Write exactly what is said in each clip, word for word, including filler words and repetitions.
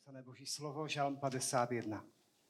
Napsané Boží slovo, žalm padesát jedna.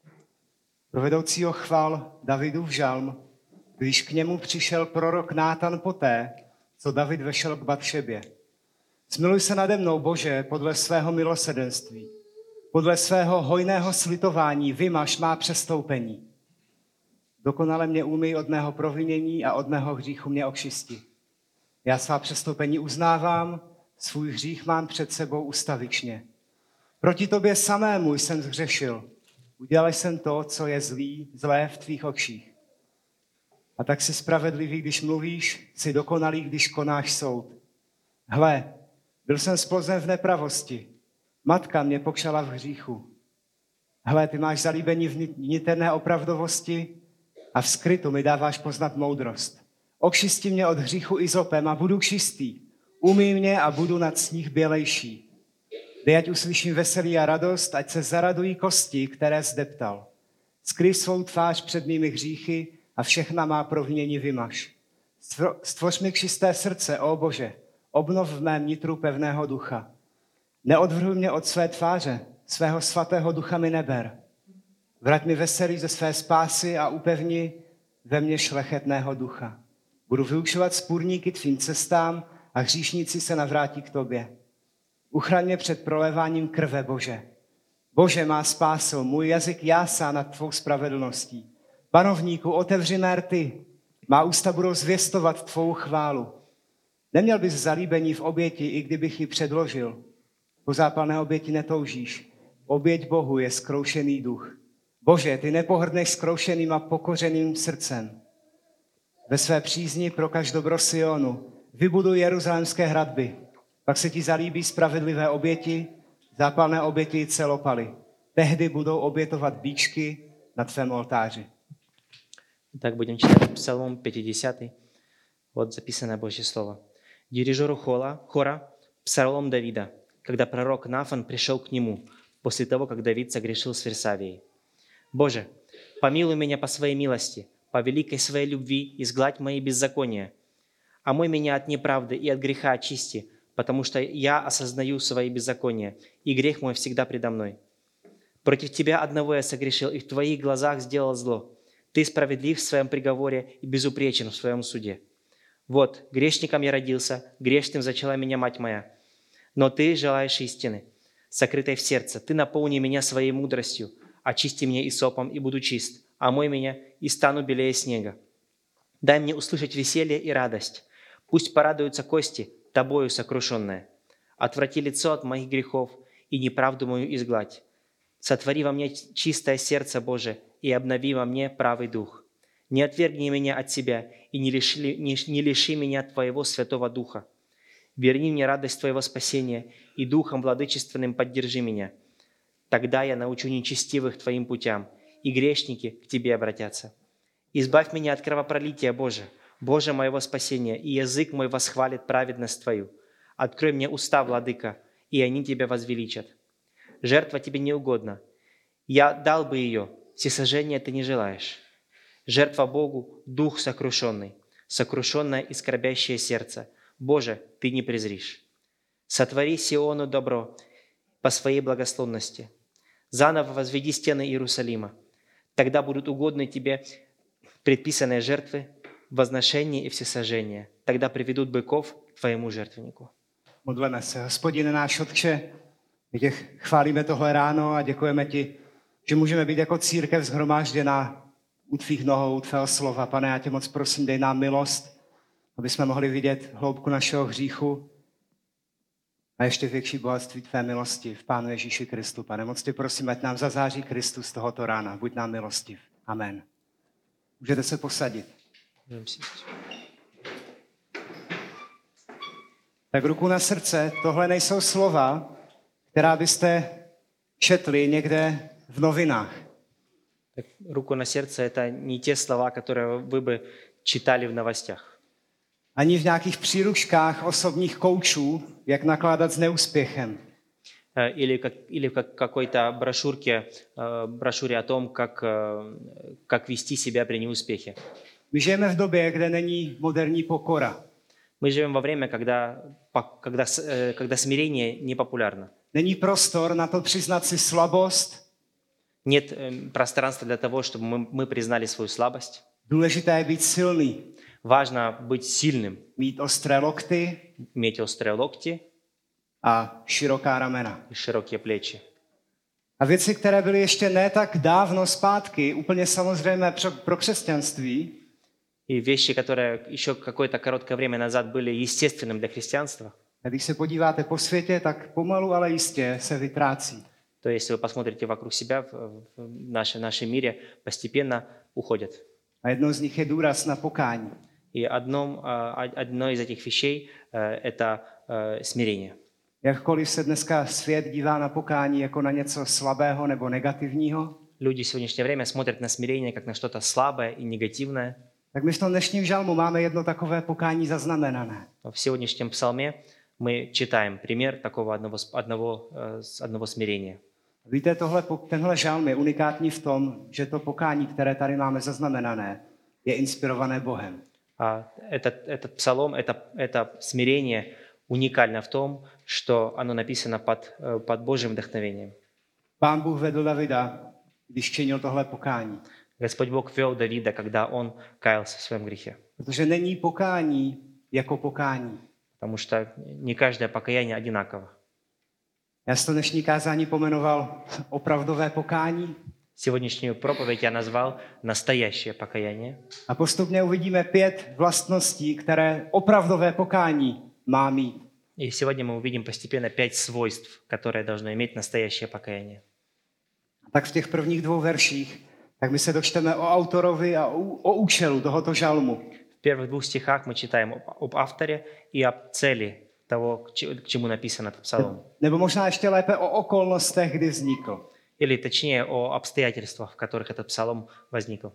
Pro vedoucího chval Davidův žalm, když k němu přišel prorok Nátan poté, co David vešel k Batšebě. Smiluj se nade mnou, Bože, podle svého milosrdenství. Podle svého hojného slitování vymaž má přestoupení. Dokonale mě umyj od mého provinění a od mého hříchu mě očisti. Já svá přestoupení uznávám, svůj hřích mám před sebou ustavičně. Proti tobě samému jsem zhřešil. Udělal jsem to, co je zlý, zlé v tvých očích. A tak jsi spravedlivý, když mluvíš, jsi dokonalý, když konáš soud. Hle, byl jsem splozen v nepravosti. Matka mě pokšala v hříchu. Hle, ty máš zalíbení v niterné opravdovosti a v skrytu mi dáváš poznat moudrost. Očisti mě od hříchu izopem a budu čistý. Umyj mě a budu nad sníh bělejší. Dej, ať uslyším veselí a radost, ať se zaradují kosti, které zdeptal. Skryj svou tvář před mými hříchy a všechna má provinění vymaž. Stvoř mi čisté srdce, ó Bože, obnov v mém nitru pevného ducha. Neodvrhuj mě od své tváře, svého svatého ducha mi neber. Vrať mi veselí ze své spásy a upevni ve mně šlechetného ducha. Budu vyučovat spůrníky tvým cestám a hříšníci se navrátí k tobě. Uchraň mě před proléváním krve, Bože. Bože, má spáso, můj jazyk jásá nad tvou spravedlností. Panovníku, otevři mé rty, má ústa budou zvěstovat tvou chválu. Neměl bys zalíbení v oběti, i kdybych ji předložil. Po zápalné oběti netoužíš. Oběť Bohu je zkroušený duch. Bože, ty nepohrdneš zkroušeným a pokořeným srdcem. Ve své přízni prokaž dobro Sionu, vybuduj jeruzalémské hradby. Pak se ti zalíbí spravedlivé oběti, zápalné oběti i celopaly. Tehdy budou obětovat bíčky na tvém oltáři. Так будем читать Псалом пятидесятый. Вот записанное Божье Слово. Дирижеру хола, хора Псалом Давида, когда пророк Нафан пришел к нему, после того, как Давид согрешил с Версавией. «Боже, помилуй меня по своей милости, по великой своей любви изгладь мои беззакония. Омой меня от неправды и от греха очисти, потому что я осознаю свои беззакония, и грех мой всегда предо мной. Против Тебя одного я согрешил, и в Твоих глазах сделал зло. Ты справедлив в своем приговоре и безупречен в своем суде. Вот, грешником я родился, грешным зачала меня мать моя. Но Ты желаешь истины, сокрытой в сердце. Ты наполни меня своей мудростью, очисти меня исопом, и буду чист, омой меня, и стану белее снега. Дай мне услышать веселье и радость. Пусть порадуются кости, Тобою сокрушенная. Отврати лицо от моих грехов и неправду мою изгладь. Сотвори во мне чистое сердце, Боже, и обнови во мне правый дух. Не отвергни меня от себя и не лиши, не, не лиши меня Твоего Святого Духа. Верни мне радость Твоего спасения и Духом владычественным поддержи меня. Тогда я научу нечестивых Твоим путям, и грешники к Тебе обратятся. Избавь меня от кровопролития, Боже, Боже моего спасения, и язык мой восхвалит праведность Твою. Открой мне уста, Владыка, и они Тебя возвеличат. Жертва Тебе не угодна. Я дал бы ее, всесожжения Ты не желаешь. Жертва Богу – дух сокрушенный, сокрушенное и скорбящее сердце. Боже, Ты не презришь. Сотвори Сиону добро по своей благословности. Заново возведи стены Иерусалима. Тогда будут угодны Тебе предписанные жертвы, возношение и всесожжение. Тогда приведут быков к Твоему жертвеннику. Modleme se. Hospodine náš Otče, my tě chválíme tohle ráno a děkujeme ti, že můžeme být jako církev shromážděná u tvých nohou, u tvého slova. Pane, já tě moc prosím, dej nám milost, aby jsme mohli vidět hloubku našeho hříchu a ještě větší bohatství tvé milosti v Pánu Ježíši Kristu. Pane, moc tě prosím, ať nám zazáří Kristus tohoto rána. Buď nám milostiv. Amen. Můžete se posadit. Tak ruku na srdce, tohle nejsou slova, která byste četli někde v novinách. Так, руку на сердце – это не те слова, которые вы бы читали в новостях. Ani v nějakých příručkách osobních koučů, jak nakládat s neúspěchem. Или, как, или в как, какой-то брошюрке, брошюре о том, как, как вести себя при неуспехе. My žijeme v době, kde není moderní pokora. Мы живем во время, когда, когда, когда смирение не популярно. Není prostor na to přiznat si slabost. Нет э, пространства для того, чтобы мы, мы признали свою слабость. Důležité je být silný, Важно быть сильным, mít ostré lokty иметь острые локти a široká ramena. и широкие плечи. A věci, které byly ještě ne tak dávno zpátky, úplně samozřejmé pro, pro křesťanství, И вещи, которые еще какое-то короткое время назад были естественным для христианства, a když se podíváte po světě, tak pomalu, ale jistě se vytrácí. то если вы посмотрите вокруг себя в, в, нашем, в нашем мире, постепенно уходят. A jednou z nich je důraz na pokání. И одном, а, одно из этих вещей э, – это э, смирение. Jakkoliv se dneska svět dívá na pokání jako na něco slabého nebo negativního, Люди в сегодняшнее время смотрят на смирение как на что-то слабое и негативное. tak my v tom dnešním žalmu máme jedno takové pokání zaznamenané. В сегодняшнем псалме мы читаем пример такого одного, одного, э, одного смирения. Víte, tohle, tenhle žalm je unikátní v tom, že to pokání, které tady máme zaznamenané, je inspirované Bohem. А этот, этот псалом, это, это смирение уникально в том, что оно написано под, э, под Божьим вдохновением. Pán Bůh vedl Davida, když činil tohle pokání. Господь Бог вел Давида, когда он каялся в своем грехе. Protože není pokání jako pokání. Потому что не каждое покаяние одинаково. Já jsem to dnešní kázání pomenoval opravdové pokání. Сегодняшнюю проповедь я назвал «Настоящее покаяние». A postupně uvidíme pět vlastností, které opravdové pokání má mít. И сегодня мы увидим постепенно пять свойств, которые должно иметь настоящее покаяние. Tak v těch prvních dvou verších, tak my se dočteme o autorovi a o účelu tohoto žalmu. В первых двух стихах мы читаем об, об авторе и об цели того, к чему написан этот псалом. Nebo možná ještě lépe o okolnostech, kdy vznikl. Или точнее о обстоятельствах, в которых этот псалом возникл.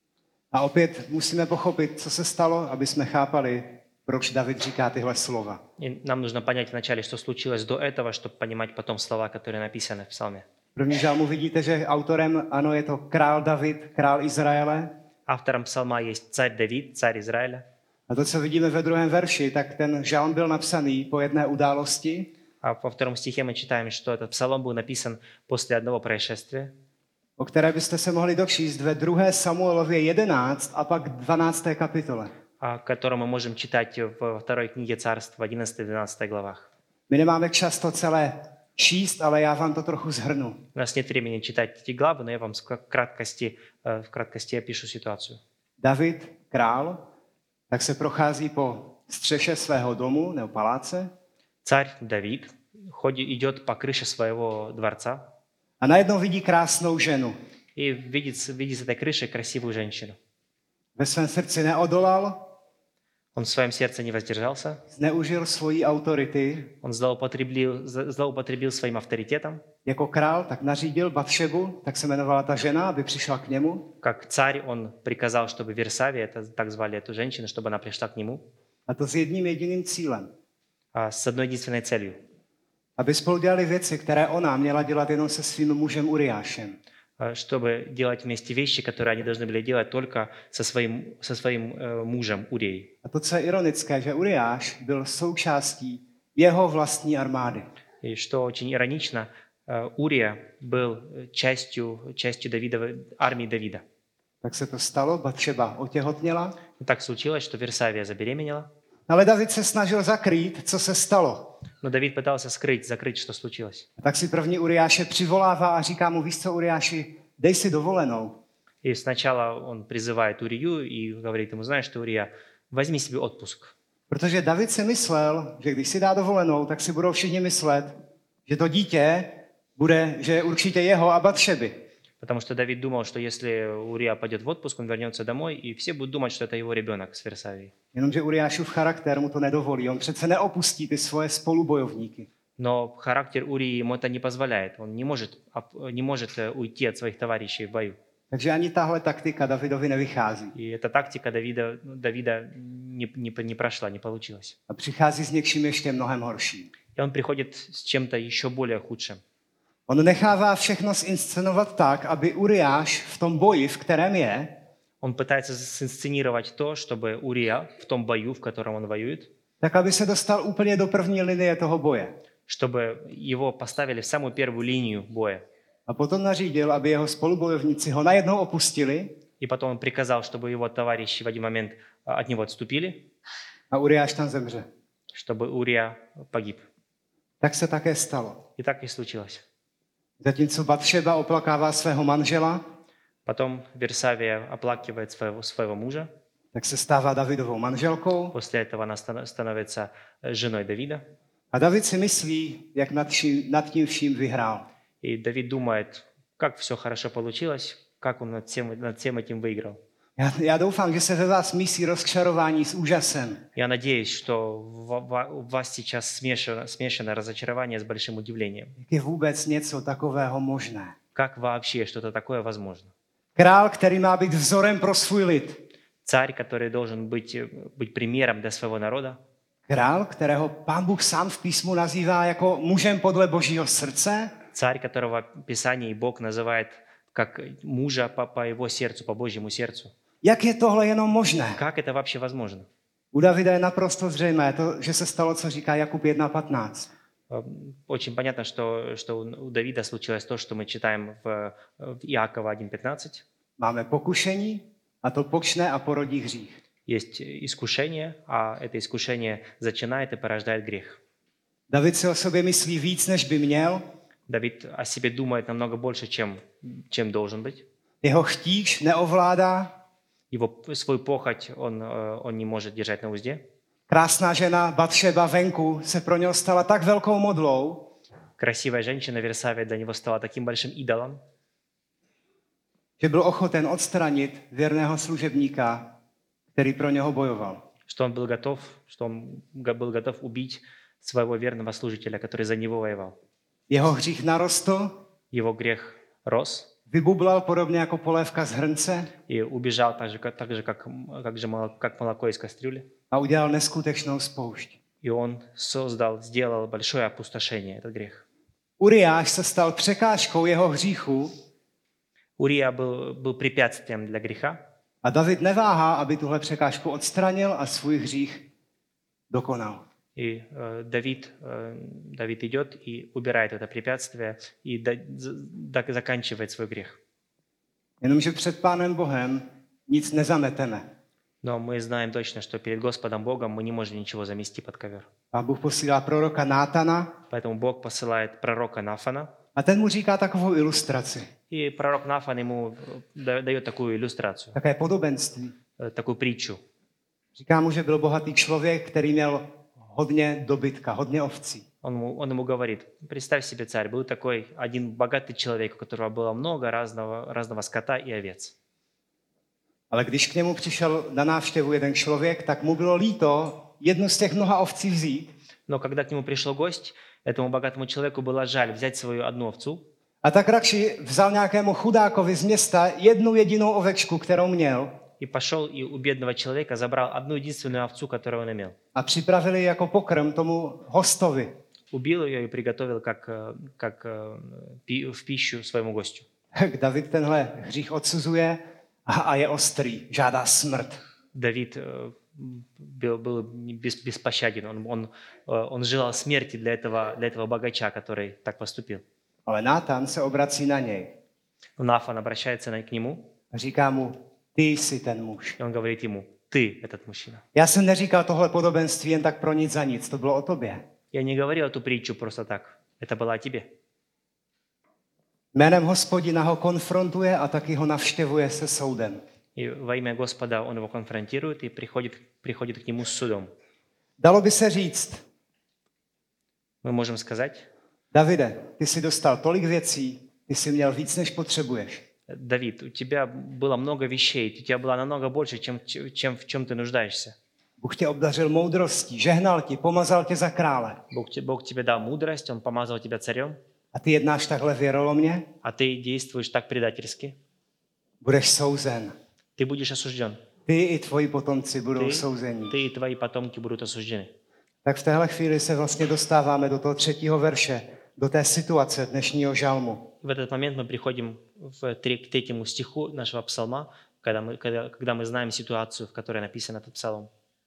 A opět musíme pochopit, co se stalo, aby jsme chápali, proč David říká tyhle slova. И нам нужно понять вначале, что случилось до этого, чтобы понимать потом слова, которые написаны в псалме. V prvním žalmu vidíte, že autorem, ano, je to král David, král Izraele. Автором псалма есть царь Давид, царь Израиля. A to, co vidíme ve druhém verši, tak ten žalm byl napsaný po jedné události. А во втором стихе мы читаем, что этот псалом был написан после одного происшествия, O které byste se mohli dočíst ve druhé Samuelově jedenáct a pak dvanácté kapitole. о котором мы можем читать во второй книге Царств в одиннадцатой-двенадцатой главах. My nemáme čas to celé číst, ale já vám to trochu zhrnu. У нас нет времени читать эти главы, но я вам в краткости, в краткости опишу ситуацию. David, král, tak se prochází po střeše svého domu nebo paláce Царь Давид ходит, идет по крыше своего дворца a najednou vidí krásnou ženu. и видит, видит с этой крыши красивую женщину. Ve svém srdci neodolal, Он в своем сердце не воздержался, zneužil svoji autority. он злоупотребил, злоупотребил своим авторитетом. Jako král tak nařídil Batšebu, tak se jmenovala ta žena, aby přišla k němu. Как царь он приказал, чтобы Версавия, это так звали эту женщину, чтобы она пришла к нему, A to s jedním jediným cílem. а с одной единственной целью. Aby spolu dělali věci, které ona měla dělat jenom se svým mužem Uriášem. Чтобы делать вместе вещи, которые они должны были делать только со своим, со своим э, мужем Урией. A to, co je ironické, že Uriáš byl součástí jeho vlastní armády. И что очень иронично, э, Урия был частью, частью Давидовой, армии Давида. Tak se to stalo, Batšeba otěhotněla, И так случилось, что Версавия забеременела, ale David se snažil zakrýt, co se stalo. но Давид пытался скрыть, закрыть, что случилось. A tak si první Uriáše přivolává a říká mu, víš co, Uriáši, dej si dovolenou. И сначала он призывает Урию и говорит ему, знаешь что, Урия, возьми себе отпуск. Protože David si myslel, že když si dá dovolenou, tak si budou všichni myslet, že to dítě bude, že je určitě jeho a Batšeby. Потому что Давид думал, что если Урия пойдет в отпуск, он вернется домой, и все будут думать, что это его ребенок с Версавией. Jenomže Uriášův charakter mu to nedovolí. On přece neopustí ty svoje spolubojovníky. Но характер Урии ему это не позволяет. Он не может, не может уйти от своих товарищей в бою. Takže ani tahle taktika Davidovi nevychází. И эта тактика Давида, Давида не, не, не прошла, не получилась. A přichází s něčím ještě mnohem horším. И он приходит с чем-то еще более худшим. On nechává všechno zinscenovat tak, aby Uriáš v tom boji, v kterém je, Он пытается синсценировать то, чтобы Урия в том бою, в котором он воюет, tak aby se dostal úplně do první linie toho boje. чтобы его поставили в самую первую линию боя. A potom nařídil, aby jeho spolubojovníci ho najednou opustili И потом он приказал, чтобы его товарищи в один момент а, от него отступили, a Uriáš tam zemře. чтобы Урия погиб. Tak se také stalo. И так и случилось. Zatímco Batšeba oplakává svého manžela, Потом Версавия оплакивает своего, своего мужа. tak se stává Davidovou manželkou После этого она ста- становится женой Давида. a David si myslí, jak nad, vším, nad tím vším vyhrál. И Давид думает, как все хорошо получилось, как он над всем, над всем этим выиграл. Já, já doufám, že se ve vás mísí rozčarování s úžasem. Я надеюсь, что в- в- у вас сейчас смешано, смешано разочарование с большим удивлением. Jak je vůbec něco takového možné? Как вообще что-то такое возможно? Král, který má být vzorem pro svůj lid. Царь, который должен быть, э, быть примером для своего народа. Král, kterého Pán Bůh sám v písmu nazývá jako mužem podle Božího srdce. Царь, которого Писание и Бог называет как мужа по, по его сердцу, по Божьему сердцу. Jak je tohle jenom možné? Как это вообще возможно? U Davida je naprosto zřejmé to, že se stalo, co říká Jakub jedna patnáct. Э, Очень понятно, что, что у у Давида случилось то, что мы читаем в, в Иакова один пятнадцать. Máme pokušení a to počne a porodí hřích. Есть искушение, а это искушение зачинает и порождает грех. David si o sobě myslí víc, než by měl. Давид о себе думает намного больше, чем, чем должен быть. Jeho chtíč neovládá. Его свою похоть он, э, он не может держать на узде. Krásná žena Batšeba venku se pro něho stala tak velkou modlou, Красивая женщина Версавия для него стала таким большим идолом, že byl ochoten odstranit věrného služebníka, který pro něho bojoval. что он был готов, что он го- был готов убить своего верного служителя, который за него воевал. Jeho hřích narostl, Его грех рос vybublal podobně jako polévka z hrnce и убежал так же, как, так же, как, как, же молоко, как молоко из кастрюли. a udělal neskutečnou spoušť. И он создал, сделал большое опустошение, этот грех. Uriáš se stal překážkou jeho hříchu Урия был, был препятствием для греха, a David neváhá, aby tuhle překážku odstranil a svůj hřích dokonal. и э, Давид, э, Давид идет и убирает это препятствие и до- за- до- заканчивает свой грех. Jenomže před Pánem Bohem nic nezameteme. Но мы знаем точно, что перед Господом Богом мы не можем ничего замести под ковер. Pán Bůh posílá proroka Nátana Поэтому Бог посылает пророка Нафана, a ten mu říká takovou ilustraci, и пророк Нафан ему да- дает такую иллюстрацию, také podobenství. э, такую притчу. Říká mu, že byl bohatý člověk, který měl hodně dobytka, hodně ovcí. Он ему, он ему говорит, представь себе, царь, был такой один богатый человек, у которого было много разного, разного скота и овец. Ale když k němu přišel na návštěvu jeden člověk, tak mu bylo líto jednu z těch mnoha ovcí vzít Но когда к нему пришел гость, этому богатому человеку было жаль взять свою одну овцу, a tak radši vzal nějakému chudákovi z města jednu jedinou ovečku, kterou měl и пошел и у бедного человека забрал одну единственную овцу, которую он имел. a připravili ji jako pokrm tomu hostovi. Убил ее и приготовил как, э, как э, пи- в пищу своему гостю. David tenhle hřích odsuzuje a, a je ostrý, žádá smrt. Давид э, был, был без- беспощаден, он, он, э, он желал смерти для этого, для этого богача, который так поступил. Ale Nátan se obrací na něj Но Нафан обращается на- к нему, a říká mu, ty jsi ten muž. и он говорит ему, ты этот мужчина. Já jsem neříkal tohle podobenství jen tak pro nic za nic, to bylo o tobě. Я не говорил эту притчу просто так, это было о тебе. Jménem Hospodina ho konfrontuje a taky ho navštěvuje se soudem. И во имя Господа он его конфронтирует и приходит, приходит к нему с судом. Dalo by se říct, Мы можем сказать, Davide, ty jsi dostal tolik věcí, ty jsi měl víc, než potřebuješ. Давид, у тебя было много вещей, у тебя было намного больше, чем, чем в чем ты нуждаешься. Bůh tě obdařil moudrostí, žehnal ti, pomazal tě za krále. Бог, те- Бог тебе дал мудрость, Он помазал тебя царем, A ty jednáš takhle věrolomně, а ты действуешь так предательски. budeš souzen. Ты будешь осужден. Ty i tvoji potomci budou Ty, souzení. ты и твои потомки будут осуждены. Tak v téhle chvíli se vlastně dostáváme do toho třetího verše, do té situace dnešního žalmu. В этот момент мы приходим в, тре- к третьему стиху нашего псалма, когда мы, когда, когда мы знаем ситуацию, в которой написан этот псалом.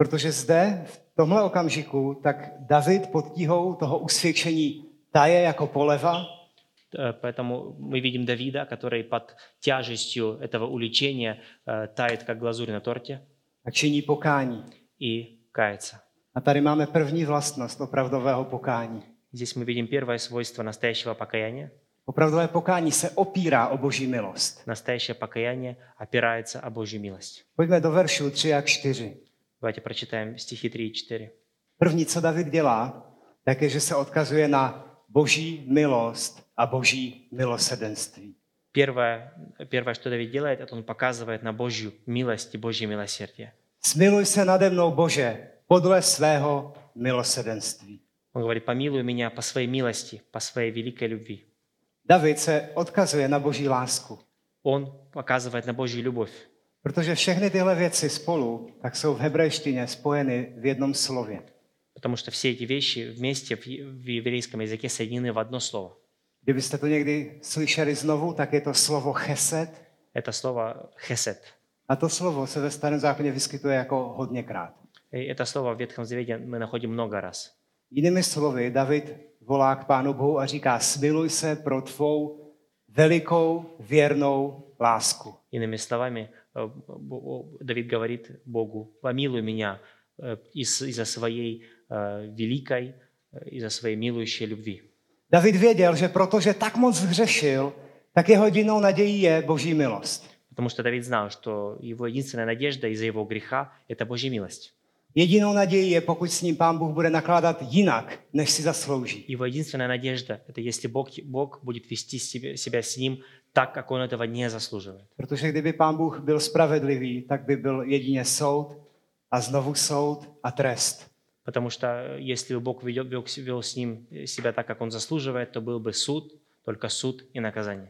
Protože zde, v tomhle okamžiku, tak David pod tíhou toho usvědčení taje jako poleva, Э, Поэтому мы видим Давида, который под тяжестью этого уличения э, тает, как глазурь на торте, a činí pokání. и кается. A tady máme první vlastnost opravdového pokání. Здесь мы видим первое свойство настоящего покаяния. Opravdové pokání se opírá o Boží milost. Настоящее покаяние опирается о Божью милость. Pojďme do veršů tři a čtyři. Давайте прочитаем стихи три и четыре. První, co David dělá, tak je, že se odkazuje na Boží milost a Boží milosrdenství. Первое, первое, что Давид делает, это он показывает на Божью милость и Божье милосердие. Smiluj se nade mnou, Bože, podle svého milosrdenství. Он говорит, помилуй меня по своей милости, по своей великой любви. David se odkazuje na Boží lásku, Он показывает на Божью любовь, protože všechny tyhle věci spolu tak jsou v hebrejštině spojeny v jednom slově. потому что все эти вещи вместе в е- в еврейском языке соединены в одно слово. Kdybyste to někdy slyšeli znovu, tak je to slovo chesed. Это слово «хесед». A to slovo se ve Starém zákoně vyskytuje jako hodněkrát. И это слово в Ветхом Завете мы находим много раз. Jinými slovy, David volá k Pánu Bohu a říká, smiluj se pro tvou velikou věrnou lásku. Иными словами, э, Бо- Давид говорит Богу, помилуй меня э, из- из-за своей э, великой, э, из-за своей милующей любви. David věděl, že protože tak moc hřešil, tak jeho jedinou nadějí je Boží milost. Потому что Давид знал, что его единственная надежда из-за его греха – это Божья милость. Jedinou nadějí je, pokud s ním Pán Bůh bude nakládat jinak, než si zaslouží. Его единственная надежда – это если Бог, Бог будет вести себя, себя с ним так, как он этого не заслуживает. Protože kdyby Pán Bůh byl spravedlivý, tak by byl jedině soud a znovu soud a trest. Потому что если бы Бог ведел, вел, вел с ним себя так, как он заслуживает, то был бы суд, только суд и наказание.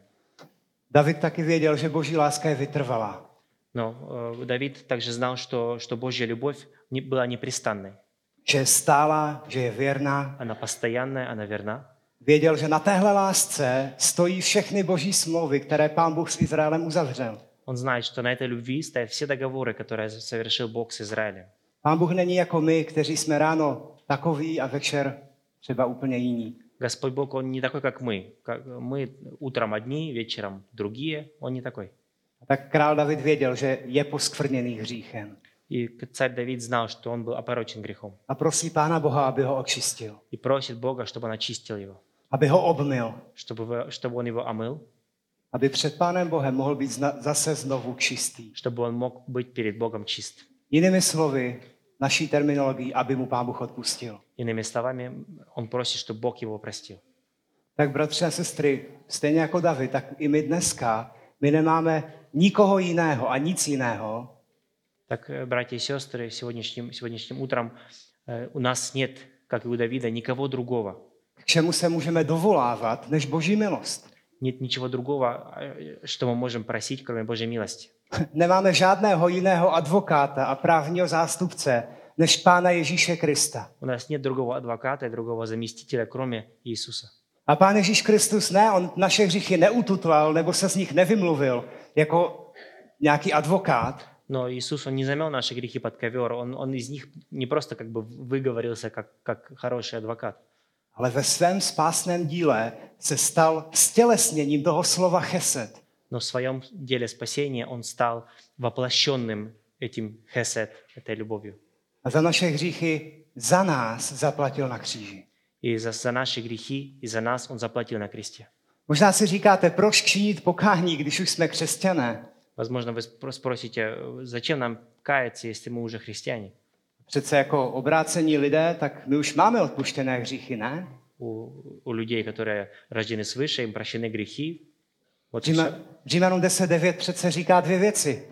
David taky věděl, že Boží láska je vytrvalá. Но э, Давид также знал, что, что Божья любовь не, была непрестанной. Že je stálá, že je věrná. Она постоянная, она верна. Věděl, že na téhle lásce stojí všechny Boží smlouvy, které Pán Bůh s Izraelem uzavřel. Он знает, что на этой любви стоят все договоры, которые совершил Бог с Израилем. Pán Bůh není jako my, kteří jsme ráno takový a večer třeba úplně jiní. Господь Бог, Он не такой, как мы. Как мы утром одни, вечером другие. Он не такой. A tak král David věděl, že je poskvrněný hříchem. И царь Давид знал, что он был опорочен грехом. A prosí Pána Boha, aby ho očistil, И просит Бога, чтобы Он очистил его, aby ho obmyl, чтобы, вы- чтобы Он его омыл, aby před Pánem Bohem mohl být zna- zase znovu čistý. чтобы он mог быть перед Богом чист. Jinými slovy, naší terminologií, aby mu Pán Bůh odpustil. Иными словами, он просит, чтобы Бог его простил. Tak bratři a sestry, stejně jako David, tak i my dneska, my nemáme nikoho jiného a nic jiného, Так, э, братья и сестры, сегодняшним, сегодняшним утром э, у нас нет, как и у Давида, никого другого. k čemu se můžeme dovolávat, než Boží milost. Нет ничего другого, э, что мы можем просить, кроме Божьей милости. Nemáme žádného jiného advokáta a právního zástupce, než Pána Ježíše Krista. У нас нет другого адвоката и другого заместителя, кроме Иисуса. A Pán Ježíš Kristus ne, on naše hříchy neututlal nebo se z nich nevymluvil jako nějaký advokát, Но Иисус, Он не замел наши грехи под ковер, Он, он из них не просто как бы выговорился, как, как хороший адвокат. ale ve svém spásném díle se stal stělesněním toho slova chesed. Но в своем деле спасения Он стал воплощенным этим хесед, этой любовью. A za naše hříchy za nás zaplatil na kříži. И за, за наши грехи, и за нас Он заплатил на кресте. Možná si říkáte, proč činit pokání, když už jsme křesťané? Возможно, вы спро- спросите, зачем нам каяться, если мы уже христиане? Přece jako obrácení lidé, tak my už máme odpuštěné hříchy, ne? У, у людей, которые рождены свыше, им прощены грехи. Вот и Říma, всё. Římanům deset devět přece říká dvě věci.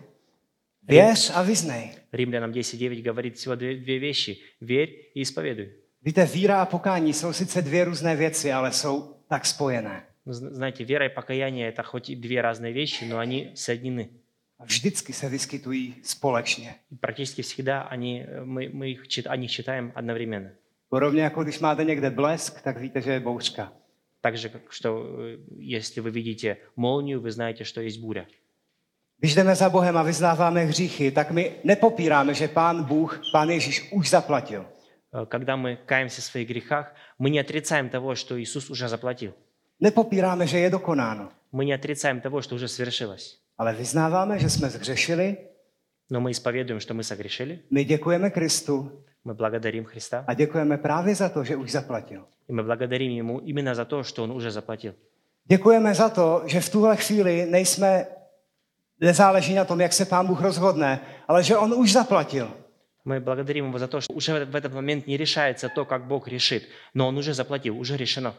Věř a vyznej. Римлянам десять девять говорит всего две, две вещи. Верь и исповедуй. Víte, víra a pokání jsou sice dvě různé věci, ale jsou tak spojené. Ну, зн- Знаете, вера и покаяние – это хоть и две разные вещи, но они соединены. A vždycky se vyskytují společně. И практически всегда они, э, мы, мы их, чит- о них читаем одновременно. Podobně jako když máte někde blesk, tak víte, že je bouřka. Так же, как что э, если вы видите молнию, вы знаете, что есть буря. Když jdeme za Bohem a vyznáváme hříchy, tak my nepopíráme, že Pán Bůh, Pán Ježíš už zaplatil. Когда мы каемся в своих грехах, мы не отрицаем того, что Иисус уже заплатил. Nepopíráme, že je dokonáno. Мы не отрицаем того, что уже свершилось. Ale vyznáváme, že jsme zhřešili, Но мы исповедуем, что мы согрешили. my děkujeme Kristu Мы благодарим Христа. a děkujeme právě za to, že už zaplatil. И мы благодарим Ему именно за то, что Он уже заплатил. Děkujeme za to, že v tuhle chvíli nejsme, nezáleží na tom, jak se Pán Bůh rozhodne, ale že On už zaplatil. Мы благодарим Его за то, что уже в этот момент не решается то, как Бог решит, но Он уже заплатил, уже решено.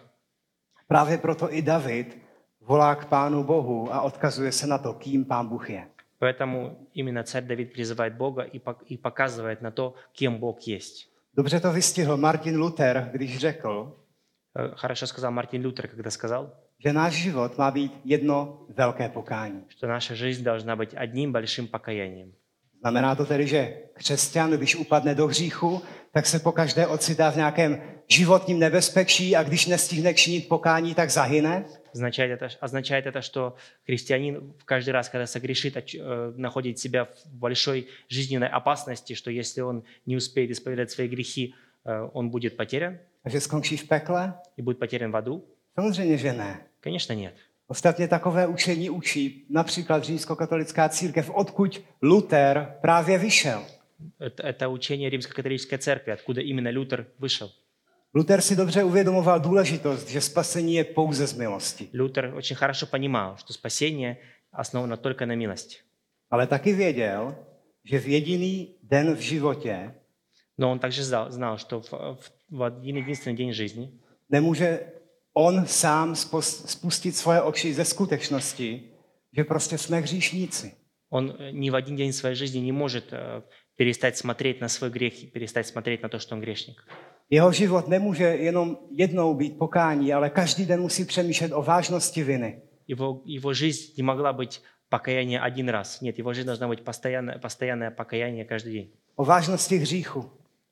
Právě proto i David volá k Pánu Bohu a odkazuje se na to, kým Pán Bůh je. Поэтому именно царь Давид призывает Бога и пок- и показывает на то, кем Бог есть. Dobře to vystihl Martin Luther, když řekl, Э, Хорошо сказал Мартин Лютер, когда сказал, že náš život má být jedno velké pokání. что наша жизнь должна быть одним большим покаянием. Znamená to tedy, že křesťan, když upadne do hříchu, tak se pokaždé ocitá v nějakém životním nebezpečí a když nestihne činit pokání, tak zahyne? Означает это, означает это, что христианин каждый раз, когда согрешит, оч- э, находит себя в большой жизненной опасности, что если он не успеет исповедать свои грехи, э, он будет потерян A že skončí v pekle? и будет потерян в аду? Samozřejmě, že ne. Конечно, нет. Ostatně takové učení učí například římskokatolická církev, odkud Luther právě vyšel. Это, это учение Римско-католической церкви, откуда именно Лютер вышел. Luther si dobře uvědomoval důležitost, že spasení je pouze z milosti. Лютер очень хорошо понимал, что спасение основано только на милости. Ale taky věděl, že v jediný den v životě Но он также знал, знал что в, в, в один единственный день жизни nemůže on sám spos- spustit svoje oči ze skutečnosti, že prostě jsme hříšníci. он э, ни в один день своей жизни не может э, перестать смотреть на свой грех и перестать смотреть на то, что он грешник. Jeho život nemůže jenom jednou být pokání, ale každý den musí přemýšlet o vážnosti viny. Его, его жизнь не могла быть покаяние один раз. Нет, его жизнь должна быть постоянное, постоянное покаяние каждый день. O vážnosti hříchu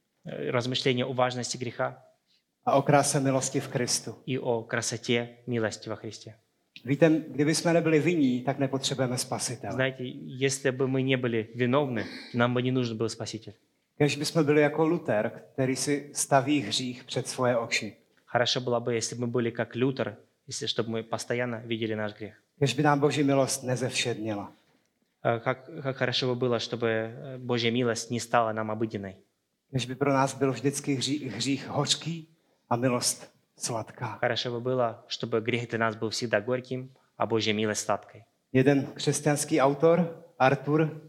Э, Размышление о важности греха a o kráse milosti v Kristu. и о красоте милости во Христе. Víte, kdyby jsme nebyli vinní, tak nepotřebujeme spasitele. Знаете, если бы мы не были виновны, нам бы не нужен был Спаситель. Když bychom byli jako Luther, který si staví hřích před svoje oči. Хорошо было бы, если бы мы были как Лютер, если чтобы мы постоянно видели наш грех. Když by nám Boží milost nezevšednila. Э, Как, как хорошо бы было, чтобы э, Божья милость не стала нам обыденной. Když by pro nás byl vždycky hřích, hřích hořký a milost sladká. Хорошо бы было, чтобы грех для нас был всегда горьким, а Божья милость сладкой. Jeden křesťanský autor, Arthur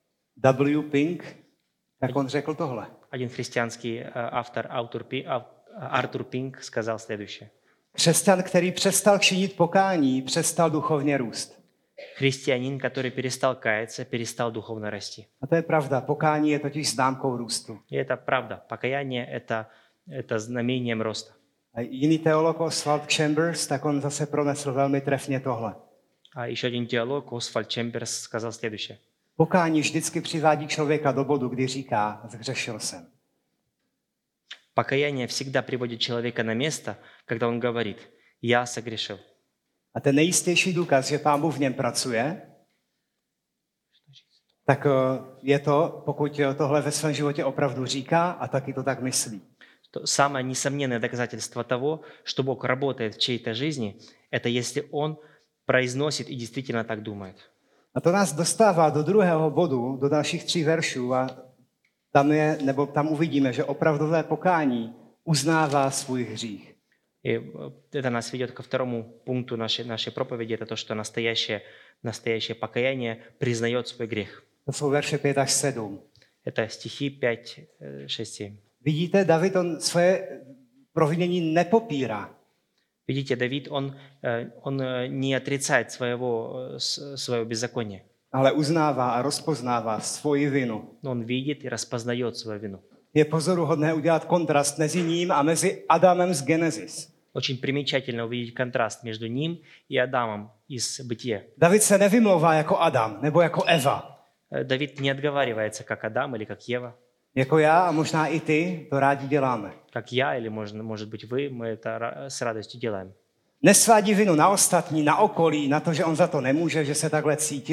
W. Pink, tak on řekl tohle. Один христианский э, автор, автор Пи- ав- Артур Пинк сказал следующее. Křesťan, který přestal činit pokání, přestal duchovně růst. Христианин, который перестал каяться, перестал духовно расти. A to je pravda. Pokání je totiž známkou růstu. И это правда. Покаяние – это, это знамением роста. A jiný teolog Oswald Chambers, tak on zase pronesl velmi trefně tohle. А еще один теолог, Освальд Чемберс, сказал следующее. Pokání vždycky přivádí člověka do bodu, kdy říká, zhřešil jsem. Покаяние всегда приводит человека на место, когда он говорит «Я согрешил». A ten nejistější důkaz, že Pán Bůh v něm pracuje, tak eh, je to, pokud tohle ve svém životě opravdu říká a taky to tak myslí. То самое несомненное доказательство того, что Бог работает в чьей-то жизни, это если Он произносит и действительно так думает. A to nás dostává do druhého bodu, do dalších tří veršů a tam, je, nebo tam uvidíme, že opravdové pokání uznává svůj hřích. И это нас ведет ко второму пункту нашей, našей проповеди, это то, что настоящее, настоящее покаяние признает свой грех. To jsou verše pět až sedm. Это стихи пять, шесть, семь. Vidíte, David on svoje provinění nepopírá. Видите, Давид, он, э, он э, не отрицает своего, э, с- своего беззакония, Ale uznává a rozpoznává svoji vinu. но он видит и распознает свою вину. Je pozoruhodné udělat kontrast mezi ním a mezi Adamem z Genesis. Очень примечательно увидеть контраст между ним и Адамом из Бытия. David se nevymlouvá jako Adam nebo jako Eva. Э, Давид не отговаривается, как Адам или как Ева, Jako já a možná i ty to rádi děláme. как я или, можно, может быть, вы, мы это ра- с радостью делаем. Nesvádí vinu na ostatní, na okolí, na to, že on za to nemůže, že se takhle cítil.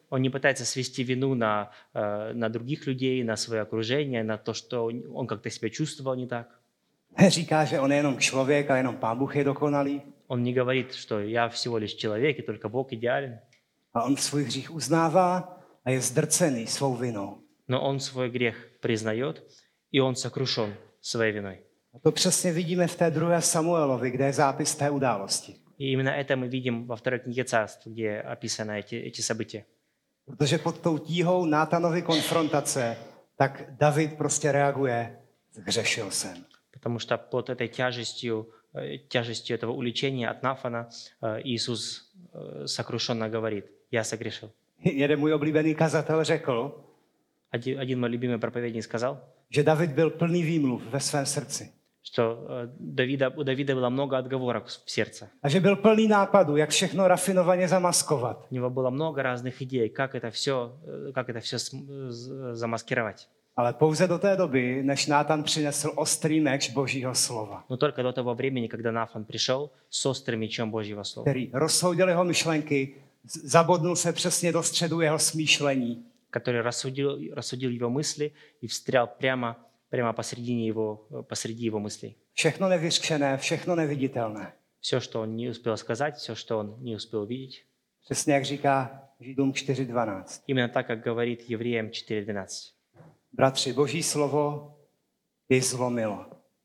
Он не пытается свести вину на, э, на других людей, на свое окружение, на то, что он как-то себя чувствовал не так. Říká, že on je jenom člověk a jenom Pán Bůh je dokonalý. Он не говорит, что я всего лишь человек, и только Бог идеален. A on svůj hřích uznává a je zdrcený svou vinou. Но он свой грех признает, и он сокрушен своей виной. A to přesně vidíme v té druhé Samuelovi, kde je zápis té události. И именно это мы видим во второй книге Царств, где описаны эти, эти события. Protože pod tou tíhou Nátanovy konfrontace, tak David prostě reaguje, zhřešil jsem. Потому что под этой тяжестью, э, тяжестью этого уличения от Нафана э, Иисус э, сокрушенно говорит: «Я согрешил». Jeden můj oblíbený kazatel řekl, Один, один мой любимый проповедник сказал, že David byl plný výmluv ve svém srdci. что э, Давида, у Давида было много отговорок в сердце. A že byl plný nápadů, jak všechno rafinovaně zamaskovat. У него было много разных идей, как это все, э, как это все см- з- замаскировать. Ale pouze do té doby, než Nátan přinesl ostrý meč Božího slova, Но только до того времени, когда Нафан пришел с острым мечом Божьего слова, který rozsoudil jeho myšlenky, z- zabodnul se přesně do středu jeho smýšlení. который рассудил, рассудил его мысли и встрял прямо, прямо посредине его, посреди его мыслей. Všechno nevyřčené, všechno neviditelné. Все, что он не успел сказать, все, что он не успел увидеть. Přesně jak říká Židům čtyři dvanáct. Именно так, как говорит Евреям четыре двенадцать. Bratři, Boží slovo jej zlomilo.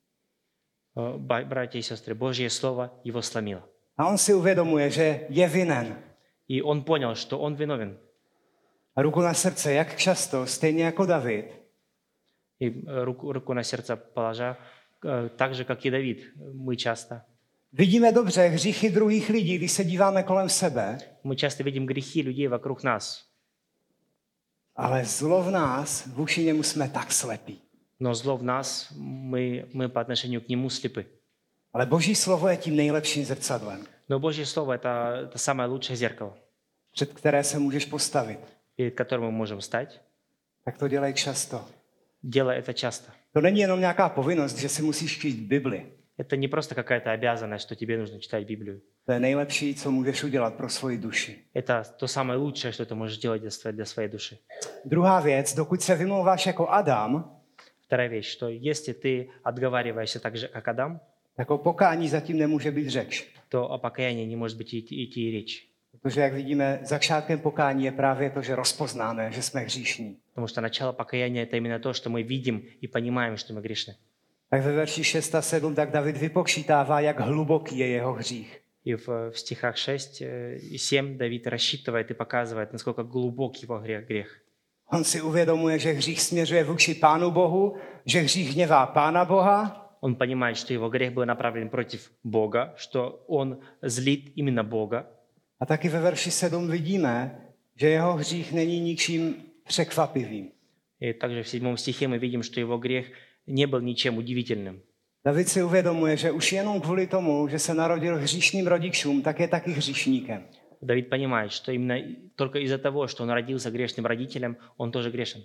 Э, ба- Братья и сестры, Божье Слово его сломило. A on si uvědomuje, že je vinen. И он понял, что он виновен. A ruku na srdce, jak často, stejně jako David, И э, руку, руку на сердце положа, э, так же, как и Давид, мы часто, vidíme dobře hříchy druhých lidí, když se díváme kolem sebe, мы часто видим грехи людей вокруг нас, ale zlo v nás, vůči němu jsme tak slepí. но зло в нас, мы, мы по отношению к нему слепы. Ale Boží slovo je tím nejlepším zrcadlem, Но Божье Слово – это, это самое лучшее зеркало, před které se můžeš postavit. перед которым мы можем стать. Tak to dělej často. Делай это часто. To není jenom nějaká povinnost, že si musíš číst Bibli. Это не просто какая-то обязанность, что тебе нужно читать Библию. To je nejlepší, co můžeš udělat pro svoji duši. Это то самое лучшее, что ты можешь делать для своей, для своей dуши. Druhá věc, dokud se vymlouváš jako Adam, Вторая вещь, что если ты отговариваешься tak же, как Адам, tak o pokání zatím nemůže být řeč. то о покаянии не может быть идти, идти и речь. Protože, jak vidíme, začátkem pokání je právě to, že rozpoznáme, že jsme hříšní. Потому что начало покаяния – это именно то, что мы видим и понимаем, что мы грешны. Tak ve verši šest a sedm tak David vypočítává, jak hluboký je jeho hřích. И в, в стихах шесть и семь Давид рассчитывает и показывает, насколько глубок его грех. грех. On si uvědomuje, že hřích směřuje vůči Pánu Bohu, že hřích hněvá Pána Boha, Он понимает, что его грех был направлен против Бога, что он злит именно Бога. a taky ve verši sedm vidíme, že jeho hřích není ničím překvapivým. И также в седьмом стихе мы видим, что его грех не был ничем удивительным. David si uvědomuje, že už jenom kvůli tomu, že se narodil hříšným rodičům, tak je taky hříšníkem. Давид понимает, что именно только из-за того, что он родился грешным родителем, он тоже грешен.